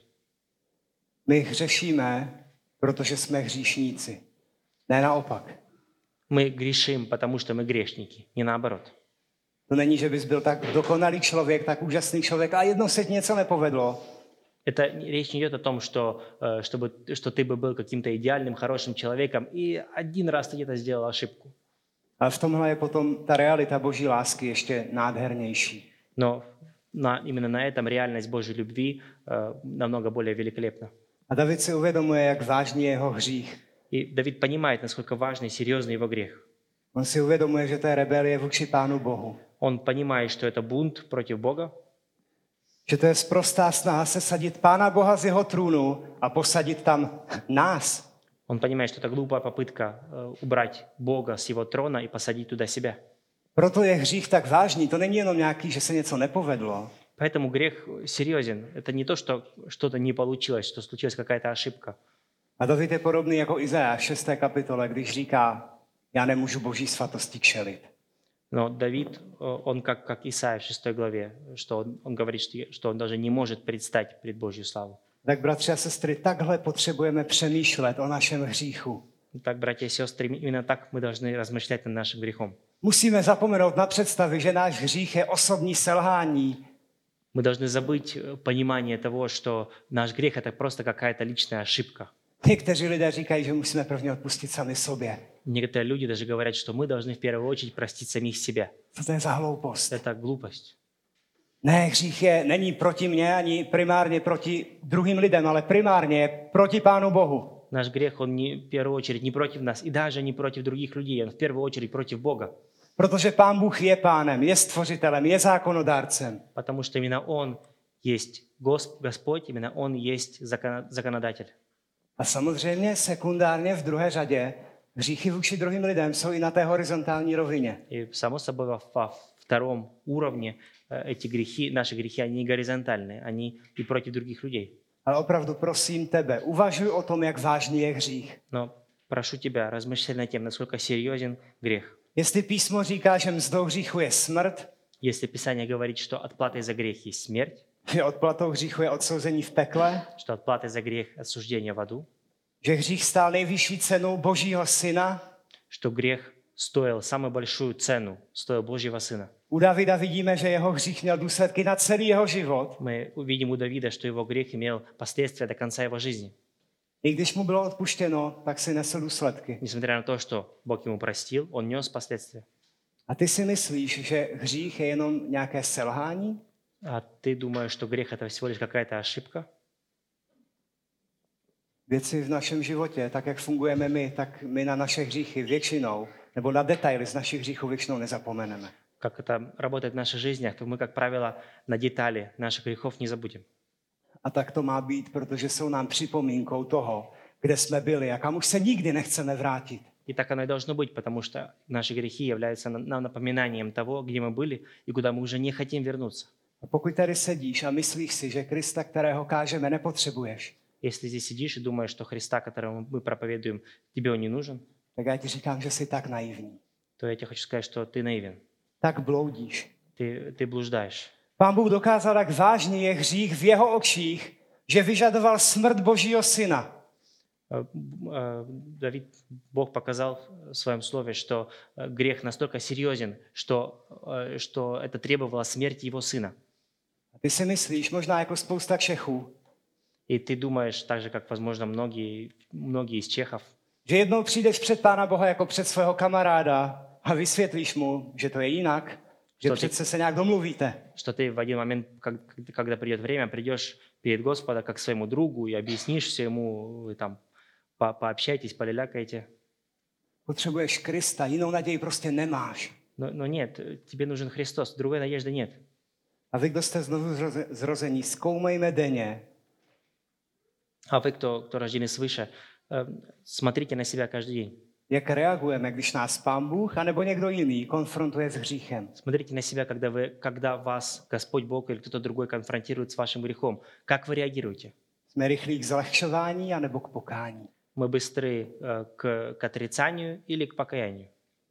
My hřešíme, protože jsme hříšníci. Ne naopak. Мы грешим, потому что мы грешники, не наоборот. To není, že bys byl tak dokonalý člověk, tak úžasný člověk a jednou se ti něco nepovedlo. Это речь не идет о том, что, э, чтобы, что ты бы был каким-то идеальным, хорошим человеком, и один раз ты где-то сделал ошибку. Ale v tomhle je potom ta realita Boží lásky ještě nádhernější. Но на, именно на этом реальность Божьей любви э, намного более великолепна. A David si uvědomuje, jak vážný je jeho hřích. И Давид понимает, насколько важный и серьезный его грех. On si uvědomuje, že to je rebelie vůči Pánu Bohu. Он понимает, что это бунт против Бога, Že to je sprostá snaha sesadit Pána Boha z jeho trůnu a posadit tam nás. он понимает, что это глупая попытка э, убрать Бога с его трона и посадить туда себя. Proto je hřích tak vážný. To není jenom nějaký, že se něco nepovedlo. Поэтому грех серьезен. Это не то, что что-то не получилось, что случилась какая-то ошибка. A David je podobný jako Izajáš v šesté kapitole, když říká, já nemůžu Boží svatosti čelit. Но Давид, э, он как, как Исаия в шестой главе, что он, он говорит, что, что он даже не может предстать пред Божью славу. Tak bratři a sestry, takhle potřebujeme přemýšlet o našem hříchu. Так, братья и сестры, именно так мы должны размышлять над нашим грехом. Musíme zapomenout na představy, že náš hřích je osobní selhání. Мы Мы должны забыть э, понимание того, что наш грех — это просто какая-то личная ошибка. Někteří lidé říkají, že musíme prvně odpustit sami sobě. Некоторые люди даже говорят, что мы должны в первую очередь простить самих себя. Co to je za hloupost? Это глупость. Ne, hřích je, není proti mně ani primárně proti druhým lidem, ale primárně je proti Pánu Bohu. Наш грех, он не, в первую очередь не против нас, и даже не против других людей, он в первую очередь против Бога. Protože Pán Bůh je pánem, je stvořitelem, je zákonodárcem. Потому что именно Он есть Госп- Господь, именно Он есть закона- законодатель. A samozřejmě sekundárně v druhé řadě hříchy vůči druhým lidem jsou i na té horizontální rovině. И само собой во, во втором уровне э, эти грехи, наши грехи, они не горизонтальные, они и против других людей. Ale opravdu prosím tebe, uvažuj o tom, jak vážný je hřích. Но прошу тебя, размышляй над тем, насколько серьезен грех. Jestli písmo říká, že mzdou hříchu je smrt, Если Писание говорит, что отплатой за грех есть смерть, že odplatou hříchu je odsouzení v pekle, что отплатой за грех осуждение в аду, že hřích stál nejvyšší cenu Božího syna, что грех стоил самую большую цену, стоил Божьего Сына. u Davida vidíme, že jeho hřích měl důsledky na celý jeho život. Мы увидим у Давида, что его грех имел последствия до конца его жизни. I když mu bylo odpuštěno, tak si nesl důsledky. Несмотря на то, что Бог ему простил, он нес последствия. A ty si myslíš, že hřích je jenom nějaké selhání? А ты думаешь, что грех — это всего лишь какая-то ошибка? Věci v našem životě, tak jak fungujeme my, tak my na naše hříchy většinou, nebo na detaily z našich hříchů většinou nezapomeneme. Как это работает в наших жизнях, то мы, как правило, на детали наших грехов не забудем. A tak to má být, protože jsou nám připomínkou toho, kde jsme byli a kam už se nikdy nechceme vrátit. И так оно и должно быть, потому что наши грехи являются нам напоминанием того, где мы были и куда мы уже не хотим вернуться. A pokud tady sedíš a myslíš si, že Krista, kterého kážeme, nepotřebuješ, Если здесь сидишь и думаешь, что Христа, которого мы проповедуем, тебе он не нужен, tak já ti říkám, že jsi tak naivní. то я тебе хочу сказать, что ты наивен. Tak bloudíš. Ты, ты блуждаешь. Pán Bůh dokázal, jak vážný je hřích v jeho očích, že vyžadoval smrt Božího syna. Э, э, Давид, Бог показал в своем слове, что э, грех настолько серьезен, что, э, что это требовало смерти его сына. A ty si myslíš, možná jako spousta Čechů, И ты думаешь, так же, как, возможно, многие, многие из чехов, že jednou přijdeš před Pána Boha jako před svého kamaráda a vysvětlíš mu, že to je jinak, že To ty- přece se nějak domluvíte. что ты в один момент, как- когда придет время, придешь перед Господа как к своему другу и объяснишь все ему, вы там по- пообщайтесь, полялякайте. Potřebuješ Krista, jinou naději prostě nemáš. Но, но нет, тебе нужен Христос, другой надежды нет. A vy, kdo jste znovu zroze- zrození, zkoumejme denně, А вы, кто, кто рождены свыше, э, смотрите на себя каждый день. jak reagujeme, když nás Pán Bůh anebo někdo jiný konfrontuje s hříchem. Смотрите на себя, когда, вы, когда вас Господь Бог или кто-то другой конфронтирует с вашим грехом. Как вы реагируете? Jsme rychlí k zlehčování anebo k pokání. Мы быстры э, к, к отрицанию или к покаянию?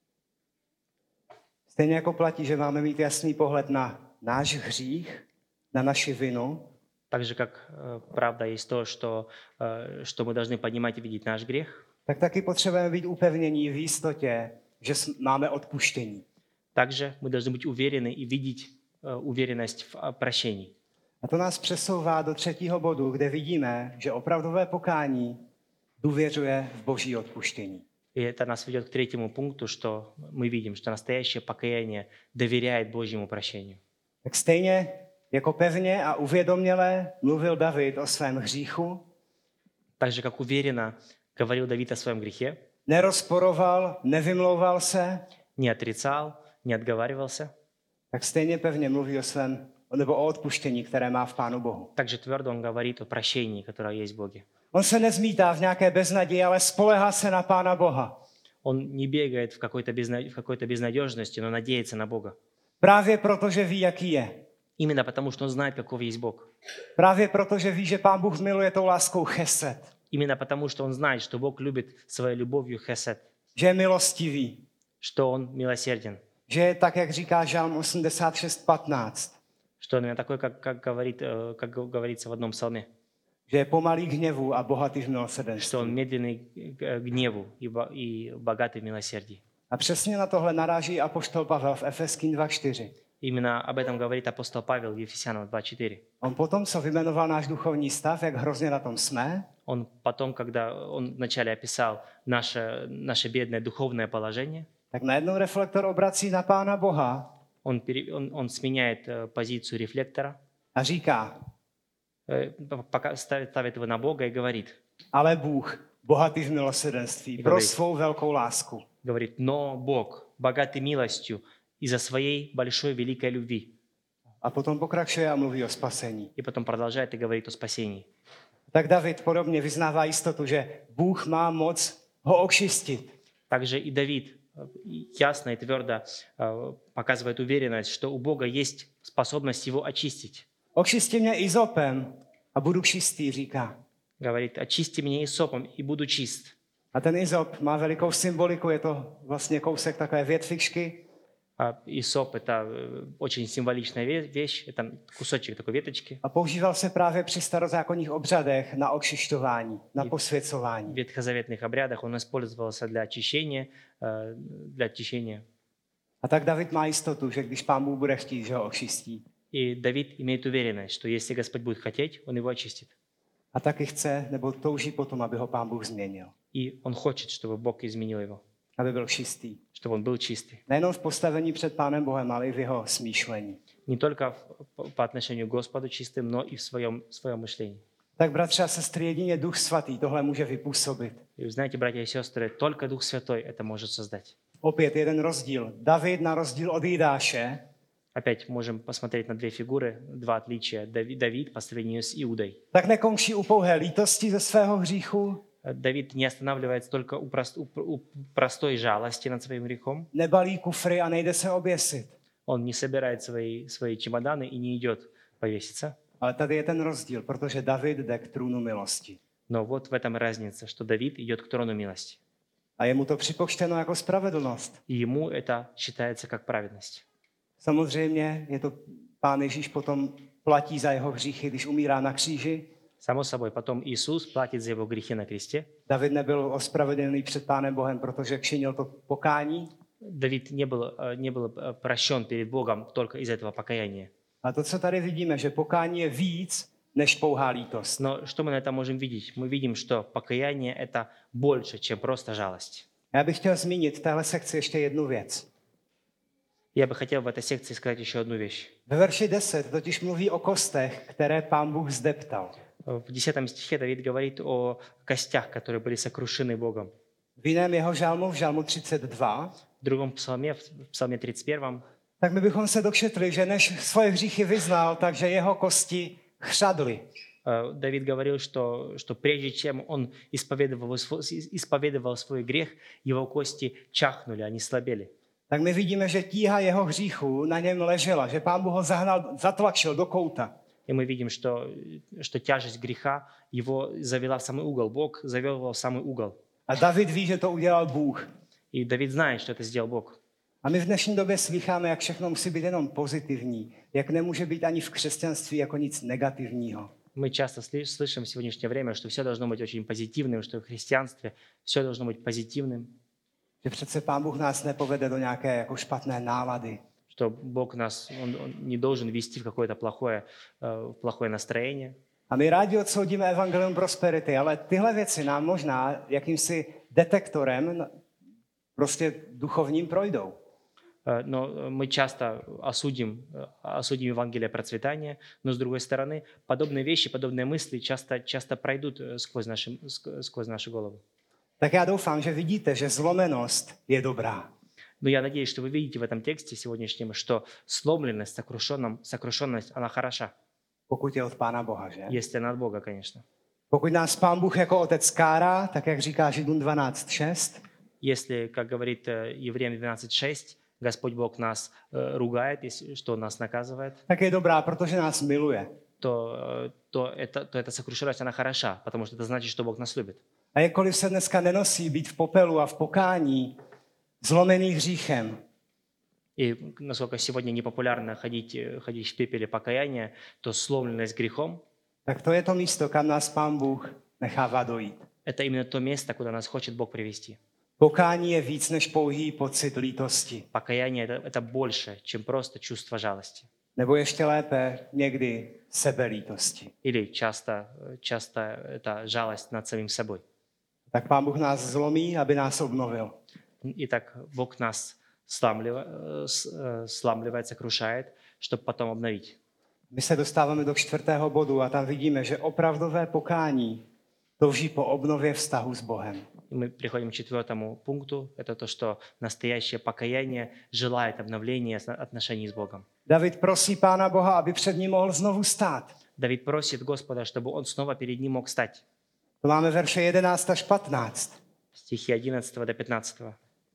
Stejně jako platí, že máme mít jasný pohled na náš hřích, na naši vinu, Так же, как э, правда есть то, что, э, что мы должны понимать и видеть наш грех, tak taky potřebujeme být upevnění v jistotě, že s- máme odpuštění. также мы должны быть уверены и видеть э, уверенность в э, прощении. A to nás přesouvá do třetího bodu, kde vidíme, že opravdové pokání důvěřuje v Boží odpuštění. И это нас ведет к третьему пункту, что мы видим, что настоящее покаяние доверяет Божьему прощению. Tak stejně jako pevně a uvědoměle mluvil David o svém hříchu, Так же, как уверенно говорил Давид о своем грехе, nerozporoval, nevymlouval se, не отрицал, не отговаривался, tak stejně pevně mluví o svém, nebo o odpuštění, které má v Pánu Bohu. также твердо он говорит о прощении, которое есть в Боге. On se nezmítá v nějaké beznaději, ale spolehá se na Pána Boha. Он не бегает в какой-то, безна- в какой-то безнадежности, но надеется на Бога. Právě proto, že ví, jaký je. Именно потому, что он знает, каков есть Бог. Právě proto, že ví, že Pán Bůh miluje tou láskou chesed. Именно потому, что он знает, что Бог любит своей любовью хесед, Že je milostivý. что он милосерден, Že je tak, jak říká Žalm osmdesát šest patnáct. что он именно такой, как, как, говорит, э, как говорится в одном псалме, Že je pomalý k hněvu a bohatý v что milosrdenství. он медленный к гневу и бо- и богатый в милосердии. A přesně na tohle naráží apoštol Pavel v Efeským dva čtyři. Именно об этом говорит апостол Павел в Ефесянам два четыре. On potom, co vymenoval náš duchovní stav, jak hrozně na tom jsme, Он потом, когда он вначале описал наше, наше бедное духовное положение, tak najednou reflektor obrací na Pána Boha он, пере- он, он сменяет э, позицию рефлектора, a říká, э, пока ставит, ставит его на Бога и говорит, ale Bůh, bohatý v milosrdenství, pro Dobrý. svou velkou lásku. говорит, но Бог, богатый милостью, из-за своей большой великой любви. A potom pokračuje a mluví o spasení. И потом продолжает и говорит о спасении. Tak David podobně vyznává jistotu, že Bůh má moc ho očistit. Также и Давид э, ясно и твердо э, показывает уверенность, что у Бога есть способность его очистить. Očisti mě izopem a budu čistý, říká. Говорит, очисти меня исопом и буду чист. A ten izop má velikou symboliku, je to vlastně kousek takové větvičky. А исоп – это э, очень символичная ве- вещь, это кусочек такой веточки. A používal se právě při starozákonních obřadech na očišťování, na posvěcování. В ветхозаветных обрядах он использовался для очищения, э, для очищения. A tak David má jistotu, že když Pán Bůh bude chtít, že ho očistí. И Давид имеет уверенность, что если Господь будет хотеть, он его очистит. A taky chce, nebo touží potom, aby ho Pán Bůh změnil. И он хочет, чтобы Бог изменил его, Aby byl čistý. чтобы он был čistý. Nejenom v postavení před Pánem Bohem, ale i v jeho smýšlení. Не только в- по отношению к Господу čistым, но и в своем, в своем мышлении. Tak bratři a sestry, jedině Duch Svatý tohle může vypůsobit. И вы знаете, братья и сестры, только Дух Святой это может создать. Opět jeden rozdíl. David na rozdíl od Jidáše Опять можем посмотреть на две фигуры, два отличия. Давид, Давид по сравнению с Иудой. tak nekončí u pouhé lítosti ze svého hříchu, Давид не останавливается только у, прост- у- у простой жалости над своим грехом. nebalí kufry a nejde se oběsit. Он не собирает свои, свои чемоданы и не идет повеситься. Ale tady je ten rozdíl, protože David jde k trůnu milosti. Но вот в этом разница, что Давид идет к трону милости. A je mu to připočteno jako spravedlnost. И ему это считается как праведность. Samozřejmě je to Pán Ježíš potom platí za jeho hříchy, když umírá na kříži. Само собой, потом Иисус платит за его грехи на кресте. David nebyl ospravedlněný před Pánem Bohem, protože činil to pokání. Давид не был, э, не был э, прощен перед Богом только из этого покаяния. A to, co tady vidíme, že pokání je víc než pouhá lítost. Но что мы на этом можем видеть? Мы видим, что покаяние – это больше, чем просто жалость. Já bych chtěl zmínit v téhle sekci ještě jednu věc. Я бы хотел в этой секции сказать еще одну вещь. Ve verši deset totiž mluví o kostech, které Pán Bůh zdeptal. В десятом стихе Давид говорит о костях, которые были сокрушены Богом. V jiném jeho žalmu, v žalmu třicet dva, В другом псалме, в псалме тридцать первом, tak my bychom se dočetli, že než svoje hříchy vyznal, takže jeho kosti chřadly. э, Давид говорил, что, что прежде чем он исповедовал, сво- исповедовал свой грех, его кости чахнули, они слабели. Tak my vidíme, že tíha jeho hříchů na něm ležela, že Pán Bůh ho zahnal, zatlačil do kouta. И мы видим, что, что тяжесть греха его завела в самый угол. Бог завел его в самый угол. A David ví, že to udělal Bůh. И Давид знает, что это сделал Бог. A my v dnešní době slycháme, jak všechno musí být jenom pozitivní, jak nemůže být ani v křesťanství jako nic negativního. Мы часто сли- слышим в сегодняшнее время, что все должно быть очень позитивным, что в христианстве все должно быть позитивным, Že přece Pán Bůh nás nepovede do nějaké jako špatné nálady. что Бог нас он, он не должен вести в какое-то плохое, э, в плохое настроение. A my rádi odsoudíme evangelium prosperity, ale tyhle věci nám možná jakýmsi detektorem prostě duchovním projdou. Э, Но мы часто осудим, э, осудим Евангелие процветания, но с другой стороны, подобные вещи, подобные мысли часто, часто пройдут э, сквозь наши, ск- сквозь нашу голову. Tak já doufám, že vidíte, že zlomenost je dobrá. Но я надеюсь, что вы видите в этом тексте сегодняшнем, что сломленность, сокрушенном- сокрушенность, она хороша, Pokud je od Pána Boha, že? если она от Бога, конечно. Pokud nás Pán Bůh jako otec kárá, tak jak říká Židům dvanáct šest, Если, как говорит э, Евреям двенадцать шесть, Господь Бог нас э, ругает, если, что Он нас наказывает, tak je dobrá, protože nás miluje. то, э, то, это, то эта сокрушенность, она хороша, потому что это значит, что Бог нас любит. A jakkoliv se dneska nenosí být v popelu a v pokání, zlomený hříchem, И насколько сегодня непопулярно ходить, э, ходить в пепеле покаяния, то сломленность грехом tak to je to místo, kam nás Pán Bůh nechává dojít. – это именно то место, куда нас хочет Бог привести. Pokání je víc než pouhý pocit lítosti. Покаяние это, это больше, чем просто чувство жалости. Nebo ještě lépe, někdy sebelítosti. Или часто, часто это жалость над самим собой. Tak Pán Bůh nás zlomí, aby nás obnovil. И так Бог нас сламливает, сламливает, сокрушает, чтобы потом обновить. My se dostáváme do čtvrtého bodu a tam vidíme, že opravdové pokání touží po obnově vztahu s Bohem. И мы приходим к четвертому пункту. Это то, что настоящее покаяние желает обновления отношений с Богом. David prosí Pána Boha, aby před ním mohl znovu stát. Давид просит Господа, чтобы он снова перед ним мог стать. To máme verše jedenáct až patnáct. Стихи одиннадцатого до пятнадцатого.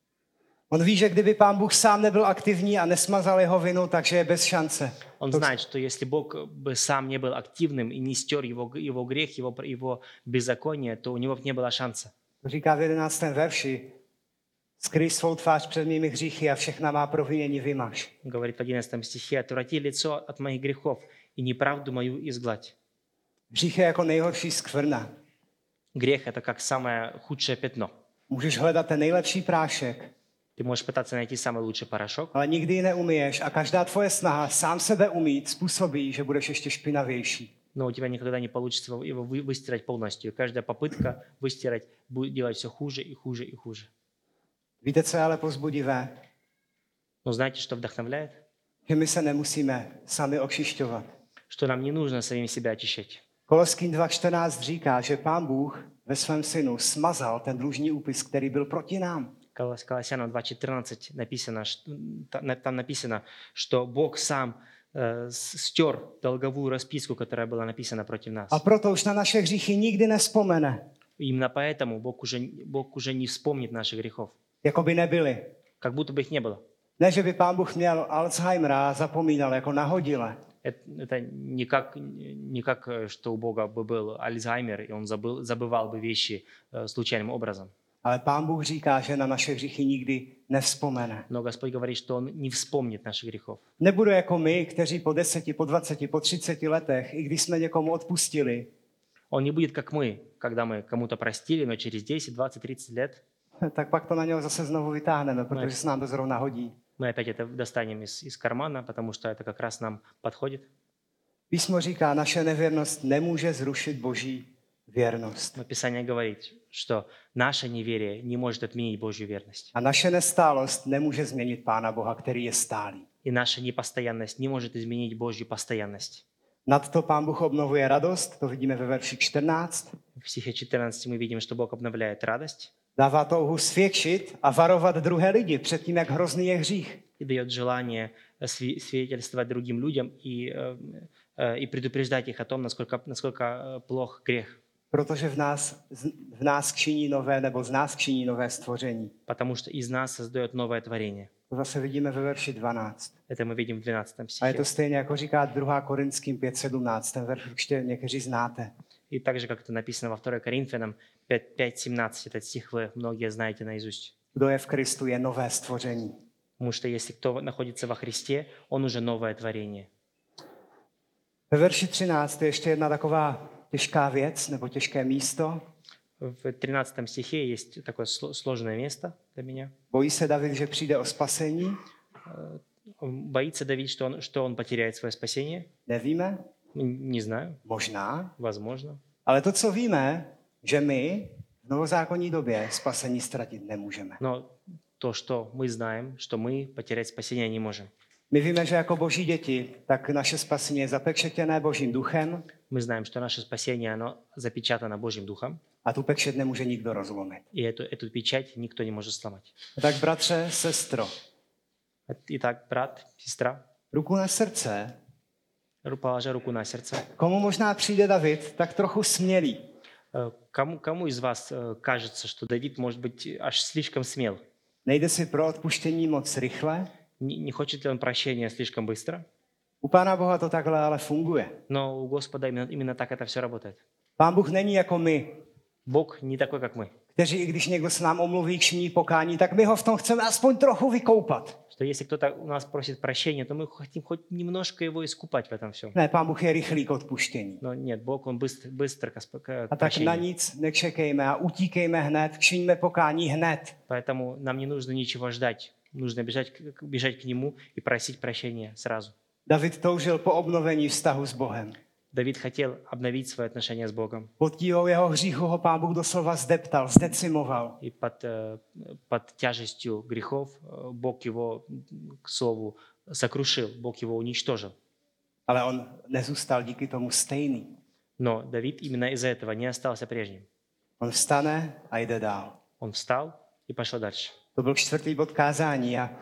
On ví, že kdyby Pán Bůh sám nebyl aktivní a nesmazal jeho vinu, takže je bez šance. Он знает, что если Бог бы сам не был активным и не стер его, его грех, его, его беззаконие, то у него бы не было шанса. To říká v jedenáctém verši. Skryj svou tvář před mými hříchy a všechna má provinění vymaž. Говорит в одиннадцатом стихе: «Отврати лицо от моих грехов и неправду мою изгладь». Hřích je jako nejhorší skvrna. Грех – это как самое худшее пятно. Můžeš hledat ten nejlepší prášek, Ты можешь пытаться найти самый лучший порошок, ale nikdy ji neumyješ a každá tvoje snaha sám sebe umýt způsobí, že budeš ještě špinavější. но у тебя никогда не получится его- его вы- выстирать полностью. И каждая попытка выстирать будет делать все хуже и хуже и хуже. Víte, co je ale povzbudivé? Но знаете, что вдохновляет? Že my se nemusíme sami okšišťovat. Что нам не нужно самим себя очищать. Koloským dva čtrnáct říká, že Pán Bůh ve svém synu smazal ten dlužní úpis, který byl proti nám. Колос- Колоссянам два четырнадцать написано, что- та- там написано, что Бог сам э, с- стер долговую расписку, которая была написана против нас. A proto už na naše hříchy nikdy nespomene, Именно поэтому Бог уже, Бог уже не вспомнит наших грехов, jako by nebyly. как будто бы их не было. Ne, že by Pán Bůh měl Alzheimera a zapomínal jako nahodile. Это, это не, как, не как, э, что у Бога бы был Альцгеймер, и он забыл, забывал бы вещи э, случайным образом. Ale Pán Bůh říká, že na naše hříchy nikdy nevzpomene. Но Господь говорит, что Он не вспомнит наших грехов. Nebude jako my, kteří po deseti, po dvaceti, po třiceti letech, i když jsme někomu odpustili, Он не будет как мы, когда мы кому-то простили, но через десять, двадцать, тридцать лет tak pak to na něho zase znovu vytáhneme, protože se nám to zrovna hodí. мы опять это достанем из, из кармана, потому что это как раз нам подходит. Písmo říká, naše nevěrnost nemůže zrušit Boží věrnost. Но Писание говорит, что наше неверие не может отменить Божью верность. A naše nestálost nemůže změnit Pána Boha, který je stálý. И наша непостоянность не может изменить Божью постоянность. Nad to Pán Bůh obnovuje radost, to vidíme ve verši čtrnáct. В стихе четырнадцать мы видим, что Бог обновляет радость Dává touhu svědčit a varovat druhé lidi před tím, jak hrozný je hřích. и дает желание сви- свидетельствовать другим людям и, э, э, и предупреждать их о том, насколько, насколько э, плох грех. Protože v nás, v nás činí nové, nebo z nás činí nové stvoření. Потому что из нас создает новое творение. To zase vidíme ve verši dvanáct. Это мы видим в двенадцатом A je стихе. to stejně, jako říká druhá Korinským pět sedmnáct. Ten verš určitě někteří znáte. И так же, как это написано во второй Коринфянам пять семнадцать, этот стих вы многие знаете наизусть. Kdo je v Kristu, je nové stvoření. Потому что если кто находится во Христе, он уже новое творение. Ve verši třináct je ještě jedna taková těžká věc, nebo těžké místo. В тринадцатом стихе есть такое сло- сложное место для меня. Bojí se David, že přijde o spasení? Боится Давид, что он, что он потеряет свое спасение? Nevíme, Н- Не знаю, možná. возможно. Ale to, co víme, že my v novozákonní době spasení ztratit nemůžeme. Но то, что мы знаем, что мы потерять спасение не можем. My víme, že jako boží děti, tak naše spasení je zapečetěné Božím duchem Мы знаем, что наше спасение, оно запечатано Божьим Духом, a tu pečet nemůže nikdo rozlomit. и эту, эту печать никто не может сломать. Tak bratře, sestro, Итак, брат, сестра, ruku na srdce, ру- положа руку на сердце. komu možná přijde David tak trochu smělý. Э, Кому, кому из вас э, кажется, что Давид может быть аж слишком смел? Nejde si pro odpuštění moc rychle. Не, не хочет ли он прощения слишком быстро? U Pána Boha to takhle ale funguje. Но у Господа именно, именно так это все работает. Pán Bůh není jako my, Бог не такой, как мы, kteří, i když někdo s nám omluví k činí pokání, tak my ho v tom chceme aspoň trochu vykoupat. Что если кто-то у нас просит прощения, то мы хотим хоть немножко его искупать в этом всем. Ne, Pán Bůh je rychlý k odpuštění. Но нет, Бог, Он быстр, быстр к осп- к A tak na прощению. nic nečekejme a utíkejme hned, činíme pokání hned. Поэтому нам не нужно ничего ждать. Нужно бежать, к- бежать к Нему и просить прощения сразу. David toužil po obnovení vztahu s Bohem. Давид хотел обновить свои отношения с Богом. Pod tíhou jeho hříchu ho Pán Bůh doslova zdeptal, zdecimoval. И под, э, под тяжестью грехов э, Бог его, к слову, сокрушил, Бог его уничтожил. Ale on nezůstal díky tomu stejný. Но Давид именно из-за этого не остался прежним. On vstane a jde dál. Он встал и пошел дальше. To byl čtvrtý bod kázání a,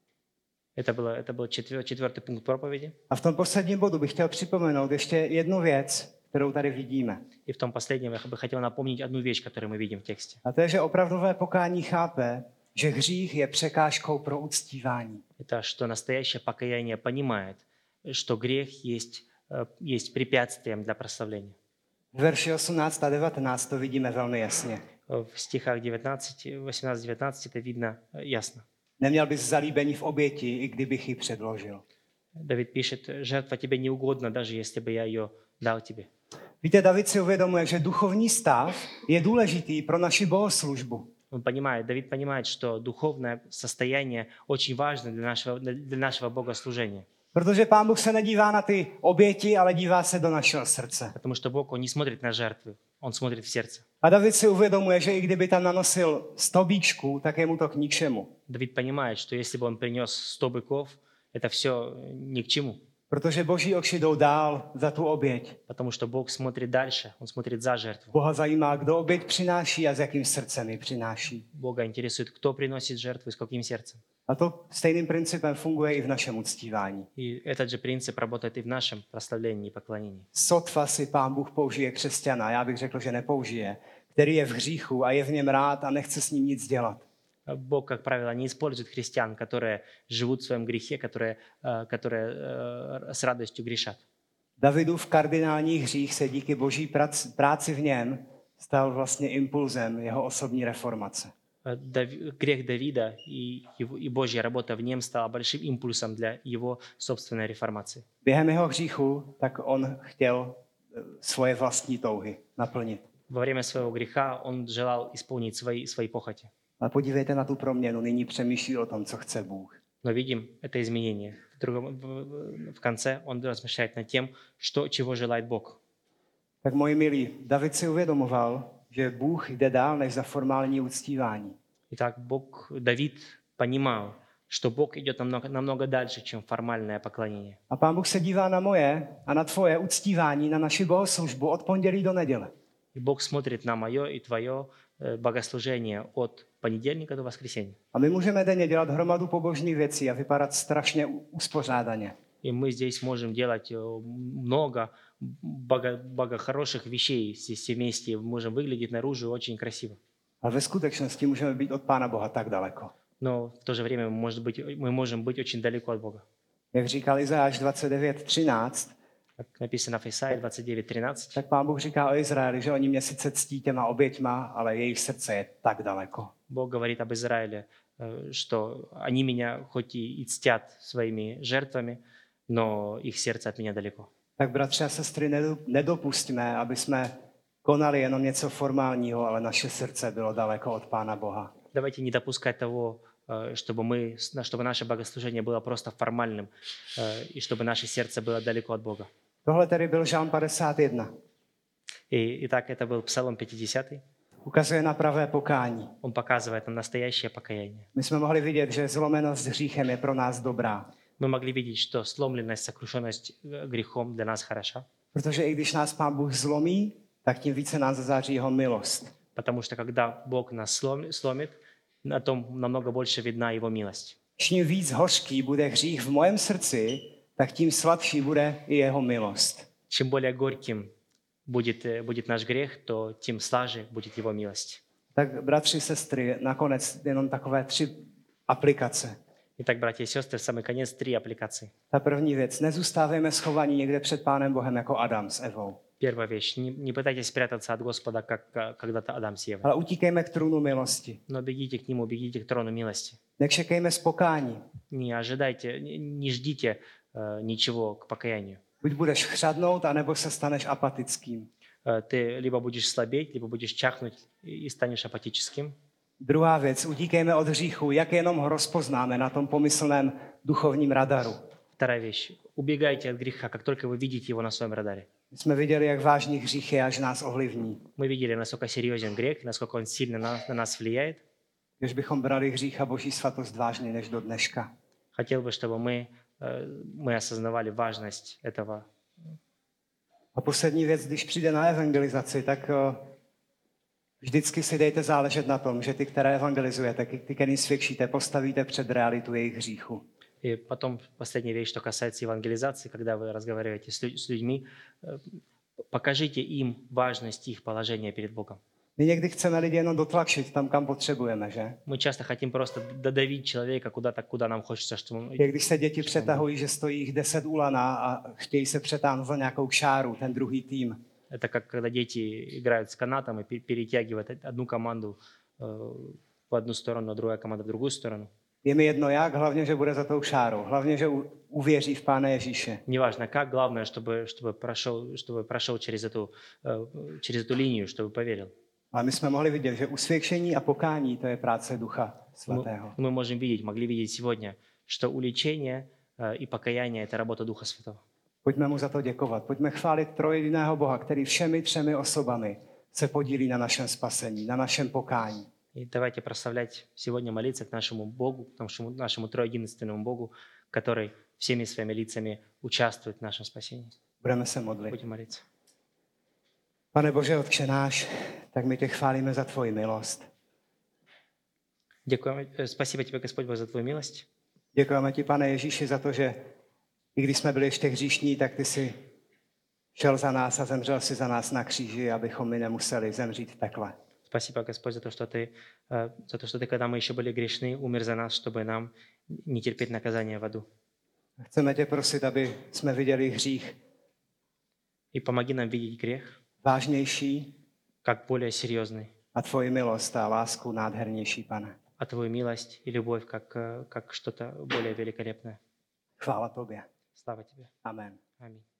Это, было, это был четвер- четвертый пункт проповеди. a v tom posledním bodu bych chtěl připomenout ještě jednu věc, kterou tady vidíme. И в том последнем я бы хотел напомнить одну вещь, которую мы видим в тексте. A to je, že opravdové pokání chápe, že hřích je překážkou pro uctívání. Это что настоящее покаяние понимает, что грех есть, э, есть препятствием для прославления. V verši osmnáct a devatenáct to vidíme velmi jasně. В стихах девятнадцать, восемнадцать девятнадцать это видно э, ясно. Neměl bys zalíbení v oběti, i kdybych ji předložil. Давид пишет, жертва тебе не угодна, даже если бы я ее дал тебе. Víte, David si uvědomuje, že duchovní stav je důležitý pro naši bohoslužbu. Он понимает, Давид понимает, что духовное состояние очень важно для нашего, для нашего богослужения. Protože Pán Bůh se nedívá na ty oběti, ale dívá se do našeho srdce. Потому что Бог, Он не смотрит на жертвы, Он смотрит в сердце. A David si uvědomuje, že i kdyby tam nanosil sto bíčků, tak je mu to k ničemu. Давид понимает, что если бы он принес сто быков, это все ни к чему. Protože boží oči jdou dál za tu oběť. Потому что Бог смотрит дальше, Он смотрит за жертву. Boha zajímá, kdo oběť přináší a s jakým srdcem ji přináší. Бога интересует, кто приносит жертву и с каким сердцем. A to stejným principem funguje i v našem uctívání. И этот же принцип работает и в нашем прославлении и поклонении. Sotva si Pán Bůh použije křesťana, já bych řekl, že nepoužije, který je v hříchu a je v něm rád a nechce s ním nic dělat. Бог, как правило, не использует христиан, которые живут в своем грехе, которые, э, которые э, с радостью грешат. Davidův kardinální hřích se díky boží prac- práci v něm stal vlastně impulzem jeho osobní reformace. Э, Дав- Грех Давида и, его, и Божья работа в нем стала большим импульсом для его собственной реформации. Během jeho hříchu tak on chtěl eh, svoje vlastní touhy naplnit. Во время своего греха он желал исполнить свои, свои похоти. Ale podívejte na tu proměnu, nyní přemýšlí o tom, co chce Bůh. Но видим это изменение. В, другом, в, в конце он размышляет над тем, что, чего желает Бог. Tak moji milí, David si uvědomoval, že Bůh jde dál než za formální uctívání. Итак, Бог, Давид понимал, что Бог идет намного, намного дальше, чем формальное поклонение. A Pán Bůh se dívá na moje a na tvoje uctívání, na naši bohoslužbu od pondělí do neděle. И Бог смотрит на мое и твое э, богослужение от понедельника до воскресенья. A my můžeme denně dělat hromadu pobožných věcí a vypadat strašně uspořádaně. И мы здесь можем делать э, много бого, бого хороших вещей здесь все вместе. Можем выглядеть наружу очень красиво. Ale ve skutečnosti můžeme být od Pána Boha tak daleko. Но в то же время может быть, мы можем быть очень далеко от Бога. Jak říkal Izajáš dvacet devět třináct, Как написано в Исаии двадцать девять тринадцать, tak Pán Bůh říká o Izraeli, že oni mě sice ctí těma oběťma, ale jejich srdce je tak daleko. Бог говорит об Израиле, э, что они меня хоть и и цтят своими жертвами, но их сердце от меня далеко. Tak bratři a sestry, nedo- nedopustíme, aby jsme konali jenom něco formálního, ale naše srdce bylo daleko od Pána Boha. Давайте не допускать того, э, чтобы, мы, чтобы наше богослужение было просто формальным, э, и чтобы наше сердце было далеко от Бога. Tohle tedy byl Žálm padesát jedna. И, итак, это был Псалом пятидесятый. Ukazuje na pravé pokání. Он показывает нам настоящее покаяние. My jsme mohli vidět, že zlomenost hříchem je pro nás dobrá. Мы могли видеть, что сломленность, сокрушенность э, грехом для нас хороша, Protože i když nás Pán Bůh zlomí, tak tím více nás zazáří jeho milost. потому что когда Бог нас слом- сломит, на том намного больше видна Его милость. Čím víc hořký bude hřích v mojem srdci, tak tím sladší bude i jeho milost. Чем более горьким будет, э, будет наш грех, то тем слаже будет Его милость. Tak bratři, sestry, nakonec jenom takové tři aplikace. Итак, братья и сестры, в самый конец три аппликации. Ta první věc, nezůstávejme schovaní někde před Pánem Bohem jako Adam s Evou. Первая вещь. Не, не пытайтесь спрятаться от Господа, как э, когда-то Адам с Евой. Ale utíkejme k trůnu milosti. Но бегите к Нему, bегите к трону милости. Nečekejme z pokání. Не ожидайте, не, не ждите э, ничего к покаянию. Buď budeš chřadnout, anebo se staneš apatickým. Э, Ты либо будешь слабеть, либо будешь чахнуть и и станешь апатическим. Druhá věc, utíkejme od hříchu, jak jenom ho rozpoznáme na tom pomyslném duchovním radaru. Вторая вещь. Убегайте от греха, как только вы видите его на своем радаре. My jsme viděli, jak vážný hřích je, až nás ovlivní. Мы видели, насколько серьезен грех, насколько он сильно на, на нас влияет. Když bychom brali hřích a boží svatost vážně než do dneška. Хотел бы, чтобы мы, э, мы осознавали важность этого. A poslední věc, když přijde na evangelizaci, tak eh, vždycky si dejte záležet na tom, že ty, které evangelizujete, ty, které svědčíte, postavíte před realitu jejich hříchu. И потом последняя вещь, что касается евангелизации, когда вы разговариваете с, лю- с людьми, э, покажите им важность их положения перед Богом. My někdy chceme lidi jenom dotlačit tam, kam potřebujeme, že? Мы часто хотим просто додавить человека куда-то, куда нам хочется, чтобы он... Jak když se děti přetahují, že stojí jich deset u lana a chtějí se přetáhnout za nějakou kšáru, ten druhý tým. Это как когда дети играют с канатом и пе- перетягивают одну команду э, в одну сторону, а другая команда в другую сторону. Je mi jedno jak, hlavně, že bude za tou kšárou. Hlavně, že u- uvěří v Pána Ježíše. Неважно как, главное, чтобы, чтобы, прошел, чтобы прошел через эту, э, через эту линию, чтобы поверил. Ale my jsme mohli vidět, že usvědčení a pokání to je práce Ducha Svatého. Мы, мы можем видеть, могли видеть сегодня, что уличение э, и покаяние – это работа Духа Святого. Pojďme mu za to děkovat. Pojďme chválit trojjediného Boha, který všemi třemi osobami se podílí na našem spasení, na našem pokání. И давайте прославлять сегодня, молиться к нашему Богу, к нашему, našemu trojedinственному Богу, который всеми своими лицами участвует в нашем спасении. Budeme se modlit. Будем молиться. Pane Bože, Otče náš, tak my tě chválíme za tvoji milost. Děkujeme, э, спасибо тебе, Господь Бог, за Твою милость. Děkujeme ti, Pane Ježíši, za to, že i když jsme byli ještě hříšní, tak ty jsi šel za nás a zemřel si za nás na kříži, abychom my nemuseli zemřít v pekle. Спасибо, Господь, за то, что Ты, э, за то, что Ты, когда мы еще были грешны, умер за нас, чтобы нам не терпеть наказание в аду. Chceme tě prosit, aby jsme viděli hřích И помоги нам видеть грех vážnější как более серьезный, a tvoji milost a lásku nádhernější, Pane. а Твою милость и любовь как, э, как что-то более великолепное. Chvála tobě. Слава Тебе. Amen. Аминь.